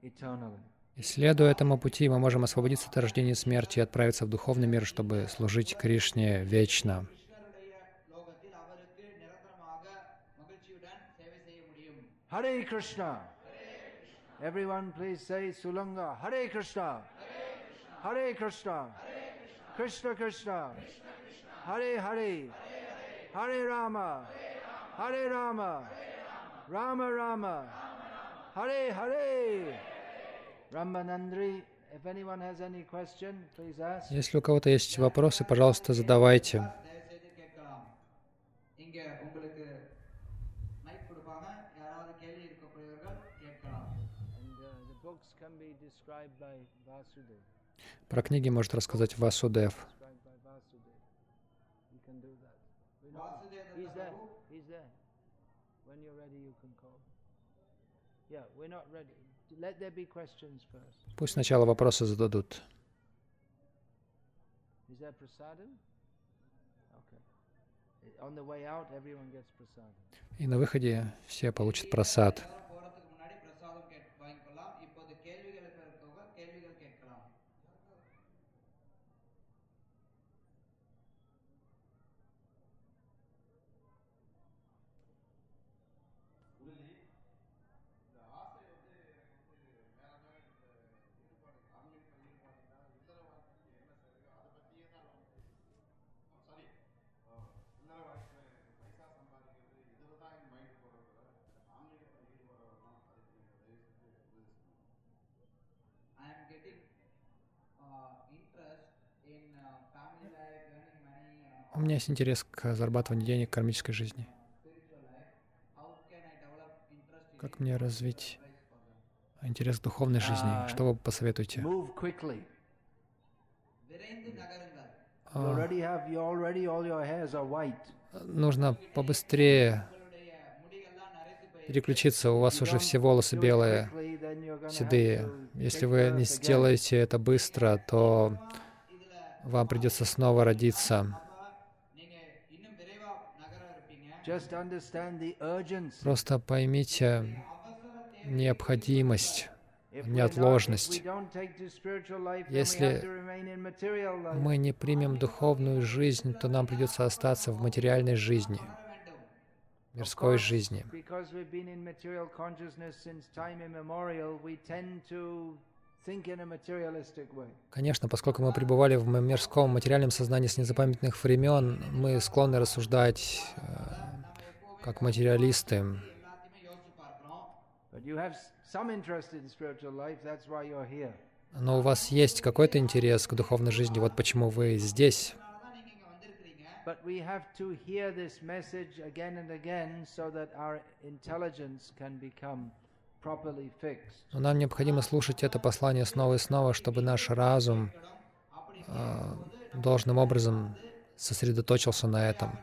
eternally. И следуя этому пути, мы можем освободиться от рождения и смерти и отправиться в духовный мир, чтобы служить Кришне вечно. கிருஷ்ணருடைய லோகத்தில் அவருக்கு நிரந்தரமாக மகிழ்ச்சியுடன் சேவை செய்ய முடியும். Hare Krishna. Everyone please say Sulanga. Hare Krishna. Hare Krishna. Krishna Krishna. Hare Hare. Hare Rama. Hare Rama. Rama Rama. Hare Hare. Ramanandri, if anyone has any question, please ask. Если у кого-то есть вопросы, пожалуйста, задавайте. தயவுசெய்து கேட்கலாம். இங்க உங்களுக்கு மைக் கொடுப்பாங்க. யாராவது கேள்வி இருக்கக்கூடியவர்கள் கேட்கலாம். And the books can be described by Vasudev. Про книги может рассказать Васудев. Described by Vasudev. You can do that. We know- Vasudeva He's there. Prabhu He's there. When you're ready, you can call. Yeah, we're not ready. Let there be questions first. Пусть сначала вопросы зададут. Is there prasadam? Okay. On the way out, everyone gets prasadam. И на выходе все получат прасад. எல்லாரும் போறதுக்கு முன்னாடி பிரசாதம் வாங்கிக்கலாம். இப்போது கேள்விகளுக்கு இருக்கவங்க கேள்விகள் கேட்கலாம். I am getting interest in family life, earning money, У меня есть интерес к зарабатыванию денег в кармической жизни. spiritual life. How can I develop interest in Как мне развить advice for them? интерес к духовной жизни? Что вы посоветуете? Move quickly. விரைந்து நகருங்கள். You already all your hairs are white. Нужно побыстрее உங்களுடைய முடிகள்லாம் நரைத்து போய் переключиться. У вас уже все волосы белые, Quickly, then you're gonna have седые. to Если take вы birth не again. сделаете это быстро, то இதுல вам придется снова родиться. அப்ப நீங்க இன்னும் விரைவா நகர இருப்பீங்க. Just understand the urgency. Просто поймите необходимость, If неотложность. we don't take to spiritual life, then we Если have to remain in material life. мы не примем духовную жизнь, то нам придется остаться в материальной жизни, мирской жизни. Because we've been in material consciousness since time immemorial, we tend to think in a materialistic way. Конечно, поскольку мы пребывали в мирском материальном сознании с незапамятных времен, мы склонны рассуждать как материалисты. எல்லாத்தையுமே யோசிச்சு பார்க்கிறோம். But you have some interest in spiritual life, that's why you're here. Но у вас есть какой-то интерес к духовной жизни, вот почему вы здесь. அதனாலதான் நீங்க இங்க வந்திருக்கிறீங்க. But we have to hear this message again and again so that our intelligence can become properly fixed. Но нам необходимо слушать это послание снова и снова, чтобы наш разум должным образом сосредоточился на этом.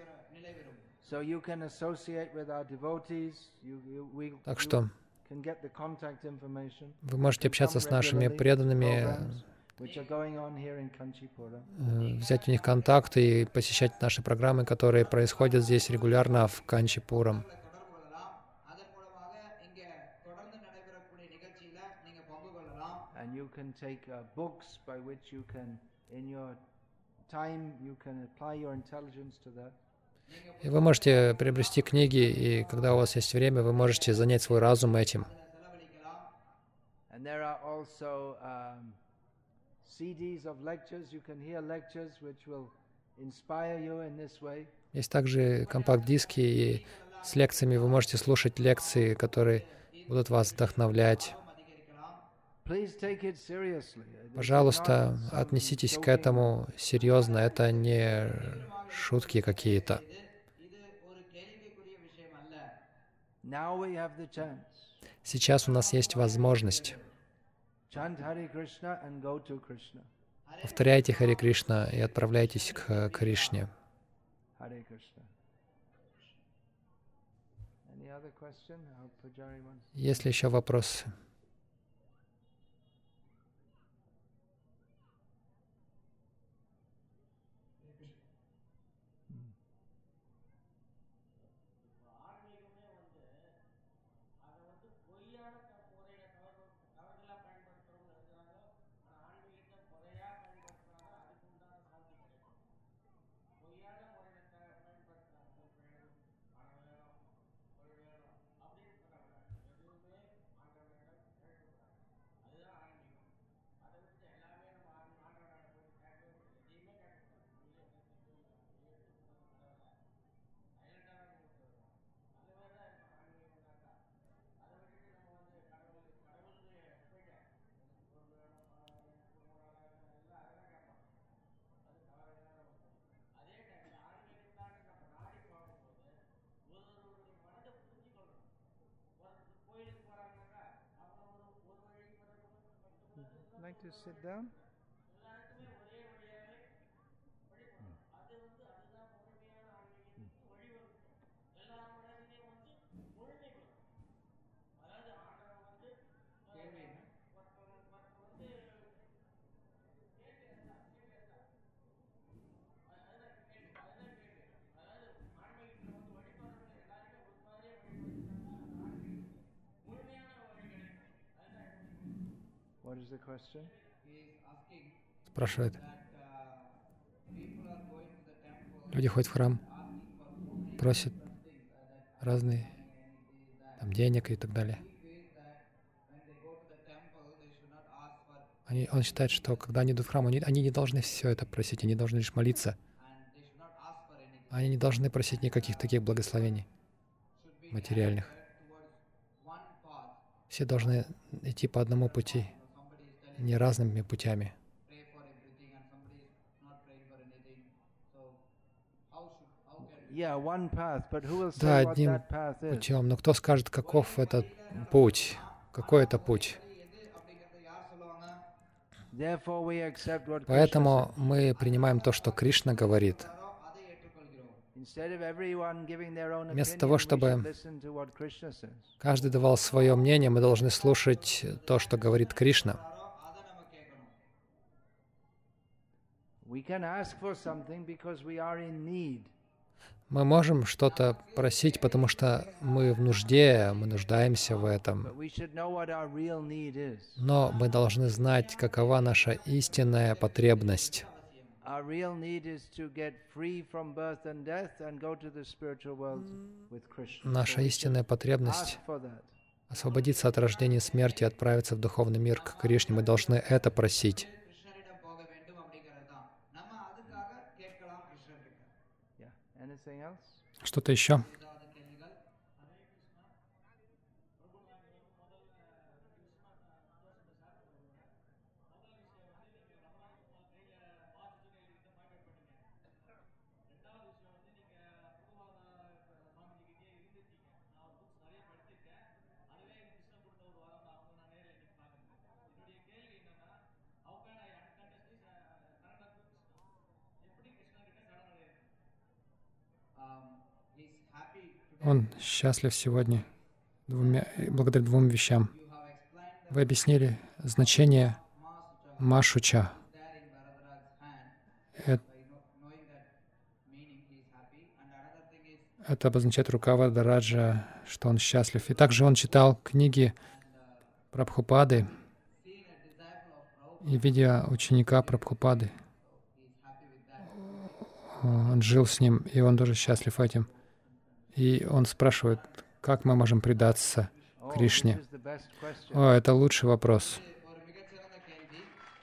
So you can associate with our devotees, Так что can get the contact information, вы можете общаться с нашими преданными, which are going on here in Kanchipura. взять у них контакты и посещать наши программы, которые происходят здесь регулярно в Канчипурам. தொடர்பு கொள்ளலாம். அதன் மூலமாக இங்க தொடர்ந்து நடைபெறக்கூடிய நிகழ்ச்சியில நீங்க பங்கு கொள்ளலாம். And you can take books by which you can, in your time, you can apply your intelligence to that. И вы можете приобрести книги, и когда у вас есть время, вы можете занять свой разум этим. செலவழிக்கலாம். And there are also CDs of lectures. You can hear lectures which will inspire you in this way. Есть также компакт-диски, и с лекциями вы можете слушать лекции, которые будут вас вдохновлять. Please take it seriously. This is Пожалуйста, not some отнеситесь к joking. этому серьезно, это не шутки какие-то. இது ஒரு கேள்விக்குரிய விஷயம் அல்ல. Now we have the chance. Сейчас у нас есть возможность. Chant Hare Krishna and go to Krishna. Повторяйте Харе Кришна и отправляйтесь к Кришне. Hare Krishna. Any other question? Our Pujari wants. Есть ли еще вопросы? like to sit down? What is the question? He is asking Спрашивает. that people are going to the temple Люди ходят в храм, asking for food, просят different things that разные money and it is that. там денег и так далее. He feels that when they go to the temple, they should not ask for Он считает, что когда они идут в храм, они не должны все это просить, они должны лишь молиться. and they should not ask for anything. Они не должны просить никаких таких благословений Should be материальных. directed towards one path. Все должны идти по одному пути, Somebody is telling не разными путями. pray for everything and somebody is not praying for anything. So how can we? Yeah, one path, but who will Да, say what одним that path is? путем. Но кто скажет, каков этот путь? Какой это путь? எது அப்படிங்கறத யார் சொல்லுவாங்க? Therefore, we accept what Krishna Поэтому says. мы принимаем то, что Кришна говорит. யாரோ அதை ஏற்றுக்கொள்கிறோம். Instead of everyone giving their own Вместо opinion, того, we чтобы should listen to what Krishna says. каждый давал свое мнение, мы должны слушать то, что говорит Кришна. யாரோ அதை நம்ம கேட்கணும். We can ask for something because we are in need. Мы можем что-то просить, потому что мы в нужде, мы нуждаемся в этом. But we should know what our real need is. Но мы должны знать, какова наша истинная потребность. Our real need is to get free from birth and death and go to the spiritual world with Krishna. Наша So we истинная should потребность ask for that. — освободиться от рождения и смерти и отправиться в духовный мир к Кришне. Мы должны это просить. கிருஷ்ணரிடம் போக வேண்டும் அப்படிங்கிறது தான். நம்ம அதுக்காக கேட்கலாம் கிருஷ்ணர்கிட்ட. Yeah. Anything else? Что-то еще? ஏதாவது கேள்விகள்? He's happy today. Он счастлив сегодня благодаря двум вещам. You have explained Вы объяснили значение Машуча. there in Bharadraj's hand Это by knowing that meaning he is happy. And another thing is Это обозначает рука Варадараджа, что он счастлив. И также он читал книги Прабхупады seeing a disciple of Prabhupada, и видя ученика Прабхупады. he is happy with that. Он жил с ним, и он тоже счастлив этим. И он спрашивает, как мы можем предаться Oh, Кришне. this is the best question. О, это лучший вопрос. ஒரு மிகச்சிறந்த கேள்வி.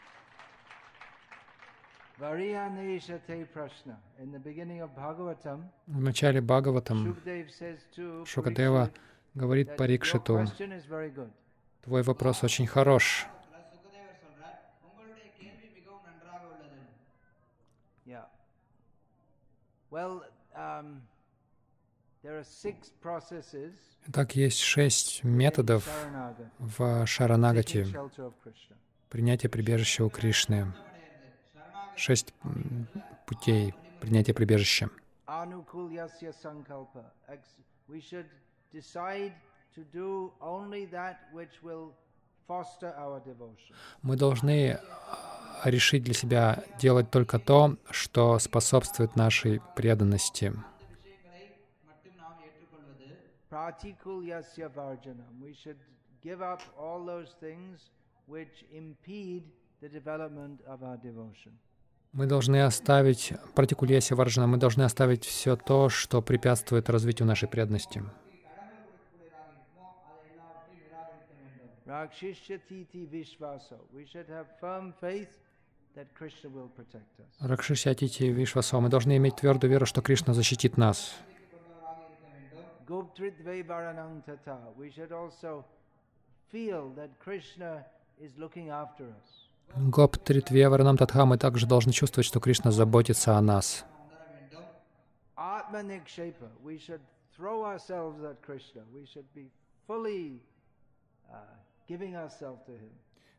Variyaneshate Prashna. In the beginning of Bhagavatam, В начале Бхагаватам Shukdev says to Шукадева Parikshit говорит that your Парикшиту: question is very good. твой вопрос очень хорош. சுகதேவர் சொல்றார், உங்களுடைய கேள்வி மிகவும் நன்றாக உள்ளது. Yeah. Well, there are 6 processes Итак, есть 6 методов Sharanagati, в Шаранагати, seeking shelter of Krishna. принятия прибежища у Кришны. 6 путей принятия прибежища. Anukulyasya sankalpa. We should decide to do only that which will foster our devotion. Мы должны решить для себя делать только то, что способствует нашей преданности. அந்த விஷயங்களை மட்டும் நாம் ஏற்றுக்கொள்வது. Pratikulyasya varjanam. We should give up all those things which impede the development of our devotion. Мы должны оставить пратикульяси варджана, мы должны оставить все то, что препятствует развитию нашей преданности. Rakshishya titi vishvaso. We should have firm faith that Krishna will protect us. Ракшишьятити Вишвасо. Мы должны иметь твердую веру, что Кришна защитит нас. Goptritve varanang tata. We should also feel that Krishna is looking after us. Гоп Тритве Варанам Татха. Мы также должны чувствовать, что Кришна заботится о нас. Atma nikshepa. We should throw ourselves at Krishna. We should be fully giving ourselves to Him.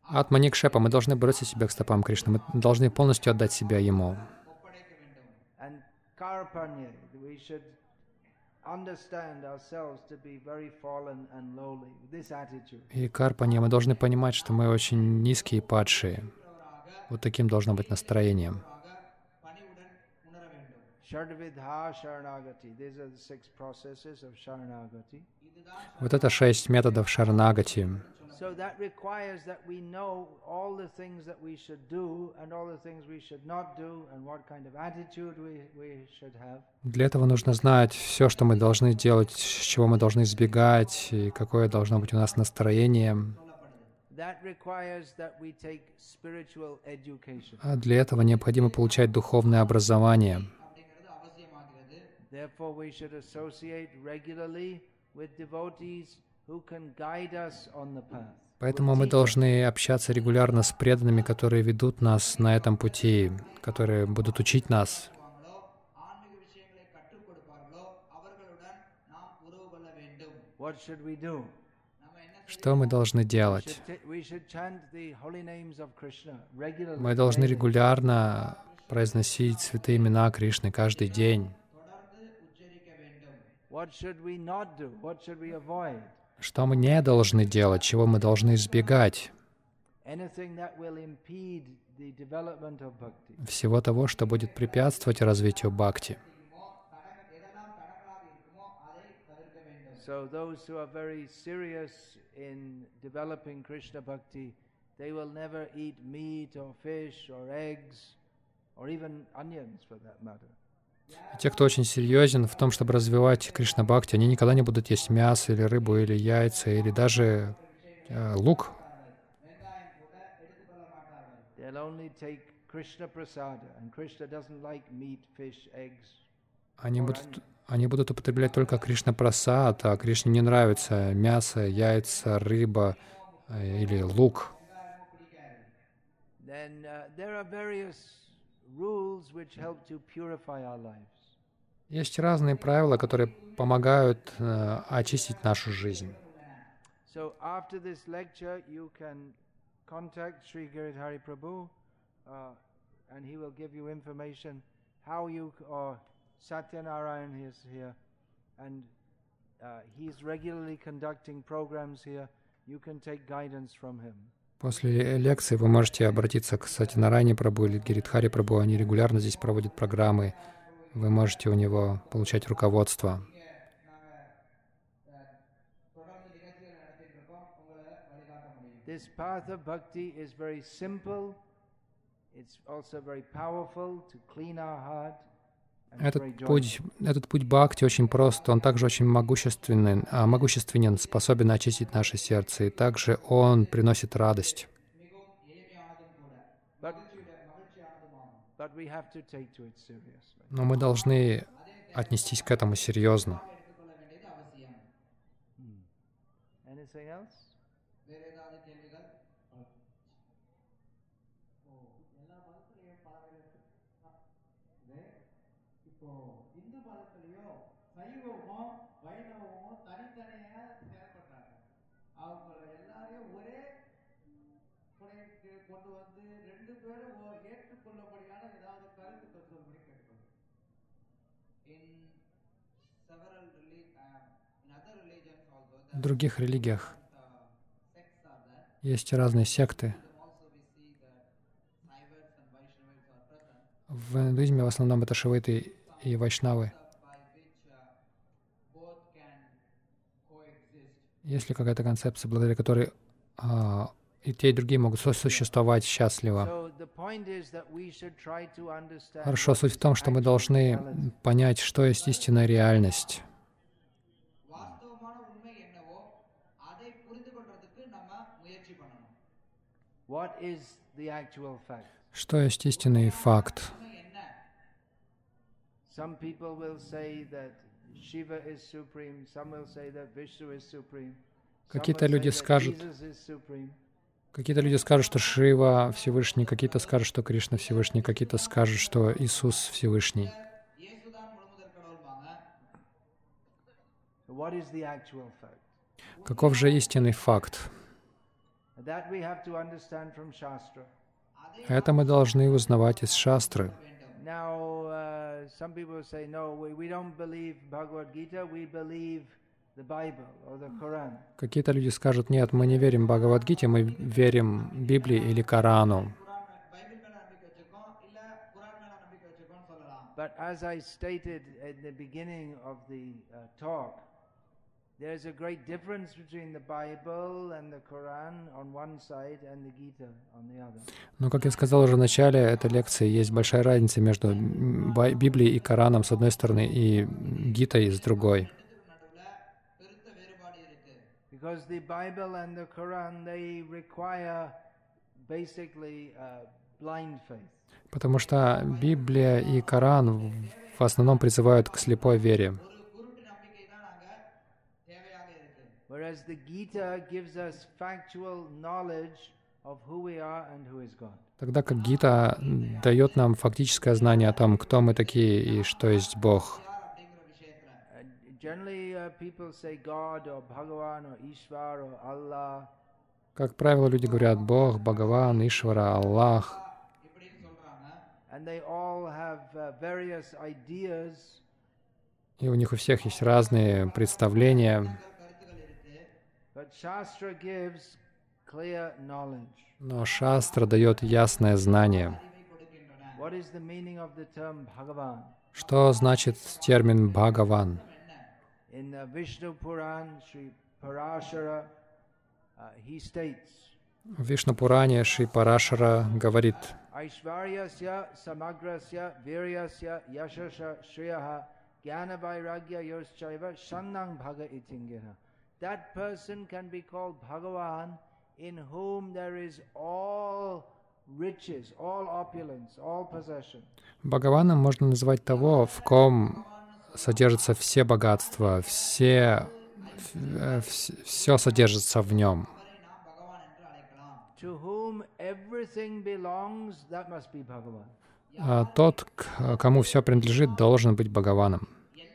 Атманикшепа, мы должны бросить себя к стопам Кришны, мы должны полностью отдать себя Ему. ஒப்படைக்க வேண்டும். And karpanye, we should understand ourselves to be very fallen and lowly. This attitude. И карпанья, мы должны понимать, что мы очень низкие и падшие. Вот таким должно быть настроением. பணிவுடன் உணர வேண்டும். Shardvidha Sharanagati. These are the 6 processes of Sharanagati. Вот это 6 методов шаранагати. So that requires that we know all the things that we should do and all the things we should not do and what kind of attitude we should have. Для этого нужно знать все, что мы должны делать, с чего мы должны избегать, и какое должно быть у нас настроение. That requires that we take spiritual education. А для этого необходимо получать духовное образование. அப்படிங்கிறது அவசியமாகிறது. Therefore, we should associate regularly with devotees who can guide us on the path. Поэтому мы должны общаться регулярно с преданными, которые ведут нас на этом пути, которые будут учить нас. வாங்களோ, ஆன்மீக விஷயங்களை கற்றுக் கொடுப்பார்களோ அவர்களுடன் நாம் உறவு கொள்ள வேண்டும். What should we do? நம்ம என்ன Что мы должны делать? We should chant the holy names of Krishna regularly. Мы должны регулярно произносить святые имена Кришны каждый день. தொடர்ந்து உச்சரிக்க வேண்டும். What should we not do? What should we avoid? Что мы не должны делать, чего мы должны избегать? Anything that will impede the development of bhakti. Всего того, что будет препятствовать развитию бхакти. எதெல்லாம் தடங்களாக இருக்குமோ அதை தவிர்க்க வேண்டும். So those who are very serious in developing Krishna bhakti, they will never eat meat or fish or eggs or even onions for that matter. Те, кто очень серьезен в том, чтобы развивать Кришна-бхакти, они никогда не будут есть мясо или рыбу, или яйца, или даже лук. They'll only take Krishna prasada, and Krishna doesn't like meat, fish, eggs. Они будут употреблять только Кришна-прасад, а Кришне не нравится мясо, яйца, рыба или лук. Then there are various rules which help to purify our lives. Есть разные правила, которые помогают очистить нашу жизнь. So after this lecture, you can contact Sri Giridhari Prabhu, and he will give you information how you, or Satyanarayan is here, and he's regularly conducting programs here. You can take guidance from him. После лекции вы можете обратиться к Сатьянарайне Прабху или Гиридхари Прабху. Они регулярно здесь проводят программы. Вы можете у него получать руководство. This path of bhakti is very simple. It's also very powerful to clean our heart. Этот путь бхакти очень прост, он также очень могущественен, способен очистить наше сердце, и также он приносит радость. Но мы должны отнестись к этому серьезно. இந்து மதத்திலேயோ சைவமோ வைணவமோ தனித்தனியா செயல்பட்டாங்க. அவங்க எல்லாரையும் ஒரே புனைக்கு கொண்டு வந்து ரெண்டு பேரும் ஏற்றுக்கொள்ளபடியான ஏதாவது கருத்து தத்துவப்படி கேட்கணும். В других религиях есть разные секты. В индуизме в основном это шивиты и вайшнавы. Есть ли какая-то концепция, благодаря которой и те, и другие могут существовать счастливо? Хорошо, суть в том, что мы должны понять, что есть истинная реальность. Что есть истинный факт? Какие-то люди скажут, что Шива Всевышний, какие-то скажут, что Кришна Всевышний, какие-то скажут, что Иисус Всевышний. Каков же истинный факт? That we have to understand from Shastra. Это мы должны узнавать из шастры. Now, some people say, no, we don't believe Bhagavad Gita, we believe the Bible or the Quran. Какие-то люди скажут, нет, мы не верим Бхагавад-гите, мы верим Библии или Корану. But as I stated at the beginning of the talk, there's a great difference between the Bible and the Quran on one side and the Gita on the other. Но, как я сказал уже в начале этой лекции, есть большая разница между Библией и Кораном с одной стороны и Гитой с другой. Because the Bible and the Quran, they require basically blind faith. Потому что Библия и Коран в основном призывают к слепой вере. Whereas the Gita gives us factual knowledge of who we are and who is God. Тогда как Гита дает нам фактическое знание о том, кто мы такие и что есть Бог. Generally, people say God or Bhagavan or Ishvar or Allah. Как правило, люди говорят Бог, Бхагаван, Ишвара, Аллах. And they all have various ideas. И у них у всех есть разные представления. But Shastra gives clear knowledge. Но Шастра дает ясное знание. What is the meaning of the term Bhagavan? Что значит термин Бхагаван? In Vishnu Puran, Sri Parashara, he states, В Вишну-Пуране Шри Парашара говорит: Aishvaryasya samagrasya viryasya yashasha shriyaha jnana vairagya yoschaiva shannang bhaga itingeha. That person can be called Bhagavan in whom there is all riches, all opulence, all possession. Бхагаваном можно назвать того, в ком содержатся все богатства, все содержится в нем. To whom everything belongs, that must be Bhagavan. А тот, кому все принадлежит, должен быть Бхагаваном.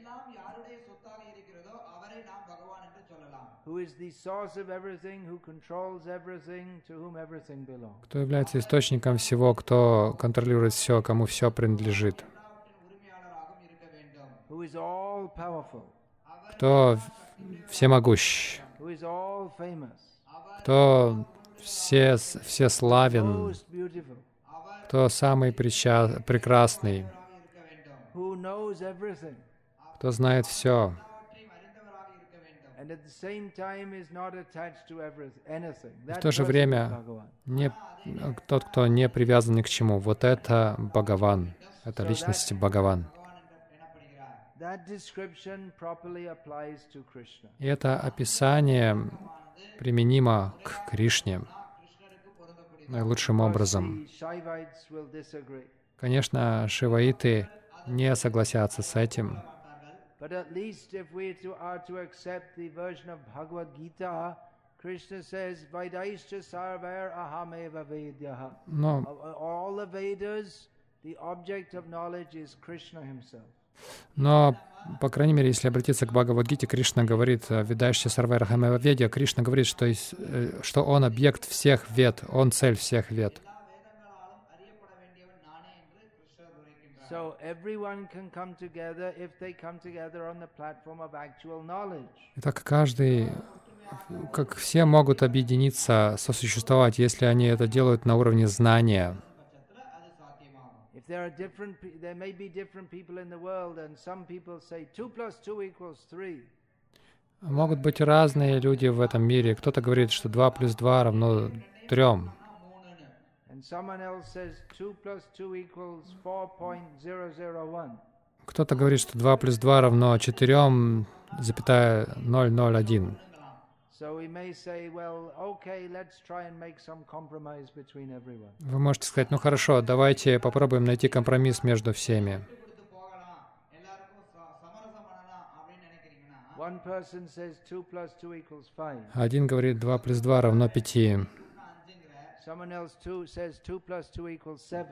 Who is the source of everything, who controls everything, to whom everything belongs. Кто является источником всего, кто контролирует все, кому все принадлежит. Who is all powerful. Кто всемогущ. Who is all famous. Кто всеславен. Most beautiful. Кто самый прекрасный. Who knows everything. Кто знает все. And at the same time is not attached to anything. В то же время тот, кто не привязан ни к чему. Вот это Бхагаван. Это личность Бхагаван. И это описание применимо к Кришне наилучшим образом. Конечно, шиваиты не согласятся с этим. But at least if we are to accept the version of Bhagavad Gita, Krishna says, Vaidāischa sarvair ahameva vedyaha. All the Vedas, the object of knowledge is Krishna himself. Но, по крайней мере, если обратиться к Бхагавад-гите, Кришна говорит, «Ведаишься сарвайр ахамева ведья», Кришна говорит, что он объект всех вед, он цель всех вед. So everyone can come together if they come together on the platform of actual knowledge. Итак, как все могут объединиться, сосуществовать, если они это делают на уровне знания. There may be different people in the world, and some people say 2 + 2 = 3. Могут быть разные люди в этом мире. Кто-то говорит, что 2 + 2 равно 3. And someone else says 2 + 2 = 4.001. Кто-то говорит, что 2 + 2 равно 4,001. So we may say, well, okay, let's try and make some compromise between everyone. Вы можете сказать, ну хорошо, давайте попробуем найти компромисс между всеми. One person says 2 + 2 = 5. Один говорит, 2 + 2 равно 5. Someone else says 2 + 2 = 7.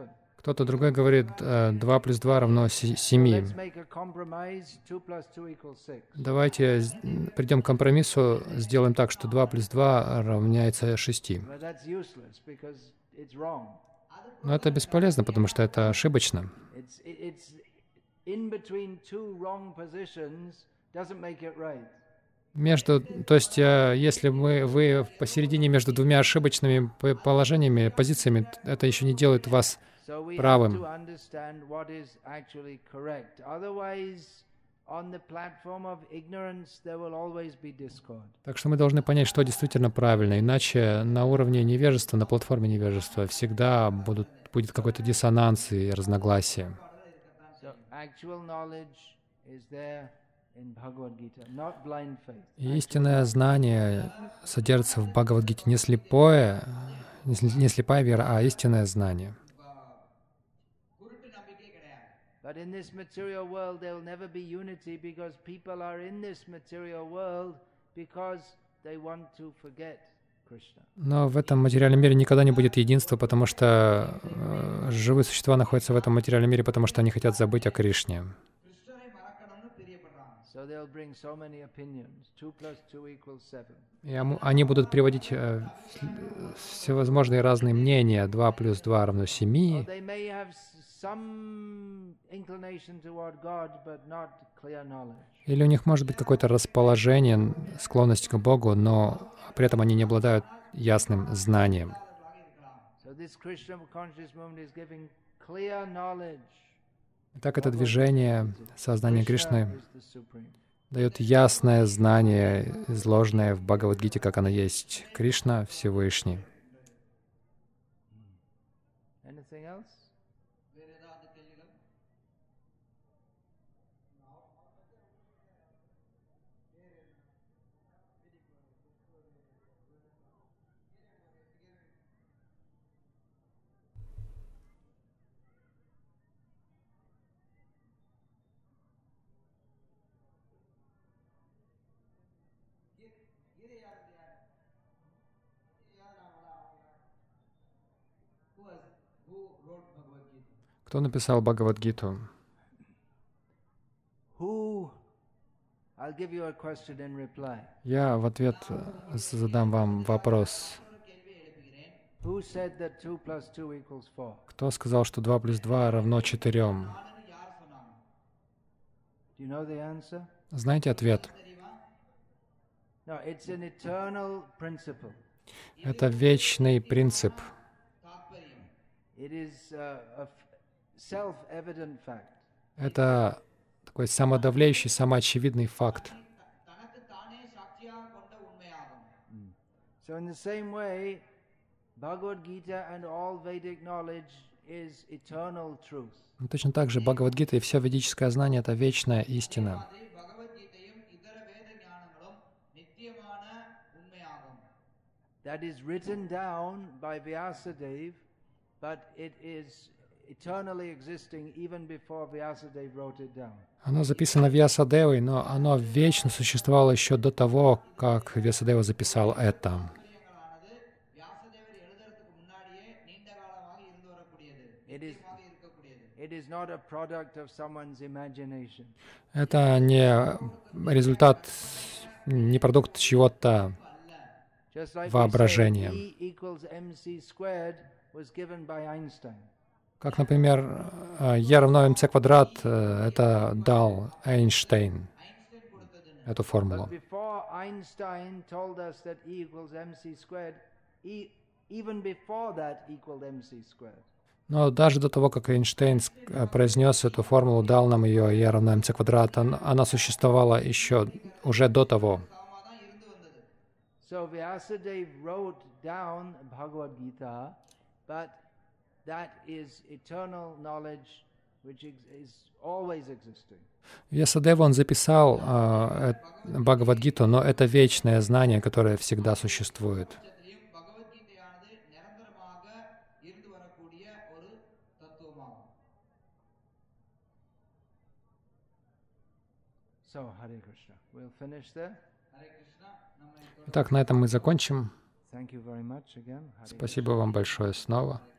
Кто-то другой говорит, 2 плюс 2 равно 7. Let's make a compromise. 2 plus 2 equals 6. Давайте придем к компромиссу, сделаем так, что 2 плюс 2 равняется 6. But that's useless because it's wrong. Но это бесполезно, потому что это ошибочно. It's in between two wrong positions doesn't make it right. То есть, если вы посередине между двумя ошибочными положениями, позициями, это еще не делает вас So we have правым. to understand what is actually correct. Otherwise, on the platform of ignorance, there will always be discord. Так что мы должны понять, что действительно правильно. Иначе на уровне невежества, на платформе невежества всегда будет какой-то диссонанс и разногласия. So actual knowledge is there in Bhagavad Gita, not blind faith. И истинное знание содержится в Бхагавад-гите. Не слепая вера, а истинное знание. குருட்டு நம்பிக்கை கிடையாது. But in this material world, there will never be unity because people are in this material world because they want to forget Krishna. Но в этом материальном мире никогда не будет единства, потому что живые существа находятся в этом материальном мире, потому что они хотят забыть о Кришне. கிருஷ்ணரை மறக்கணும்னு பிரியப்படுறாங்க. So they'll bring so many opinions. 2 plus 2 equals 7. И они будут приводить всевозможные разные мнения. 2 плюс 2 равно Or 7. they may have some inclination toward God, but not clear knowledge. Или у них может быть какое-то расположение, склонность к Богу, но при этом они не обладают ясным знанием. So this Krishna conscious movement is giving clear knowledge. Так это движение сознания Krishna Кришны is the supreme. дает ясное знание, изложенное в Бхагавад-гите, как оно есть. Кришна — Всевышний. Anything else? வேற ஏதாவது கேள்விகள்? Who wrote Bhagavad Gita? Кто написал Бхагавад-гиту? Who? I'll give you a question in reply. Я в ответ задам вам вопрос. Who said that 2 plus 2 equals 4? Кто сказал, что 2 плюс 2 равно 4? நானுன்னு யார் சொன்னாங்க? Do you know the answer? Знаете ответ? தெரியுமா? No, it's an eternal principle. Это вечный принцип. தாத்பரியம். It is a self-evident fact. Это такой самодавляющий, самоочевидный факт. தனக்கு தானே சாட்சியாக கொண்ட உண்மையாகும். So in the same way, Bhagavad Gita and all Vedic knowledge is eternal truth. Но точно так же Бхагавад-гита и все ведическое знание — это вечная истина. மாதிரி பகவத்கீதையும் இதர வேத ஞானங்களும் நித்தியமான உண்மையாகும். That is written down by Vyasadeva, but it is eternally existing even before Vyasadeva wrote it down. Оно записано Вьясадевой, но оно вечно существовало еще до того, как Вьясадева записал это. விஷயங்களானது வியாசதேவர் எழுதுறதுக்கு முன்னாடியே நீண்ட காலமாக இருந்து வரக்கூடியது, It is, நித்தியமாக இருக்கக்கூடியது. it is not a product of someone's imagination. Это не результат, не продукт чего-то Just like we say, воображения. E equals mc squared was given by Einstein. Как, например, E равно mc квадрат, это дал Эйнштейн, эту формулу. But before Einstein told us that E equals mc squared, even before that equaled mc squared. Но даже до того, как Эйнштейн произнес эту формулу, дал нам ее E равно mc квадрат, она существовала еще уже до того. சமமா தான் இருந்து வந்தது. So Vyasadeva wrote down Bhagavad Gita, but that is eternal knowledge which is always existing. Вьясадева, он записал Бхагавад-гиту, но это вечное знание, которое всегда существует. பட்சத்திலையும் பகவத்கீதையானது நிரந்தரமாக இருந்து வரக்கூடிய ஒரு தத்துவமாகும். So Hare Krishna. We'll finish there. Hare கிருஷ்ணா. நம்ம Итак, на этом мы закончим. Thank you very much again. Hare Спасибо вам большое снова.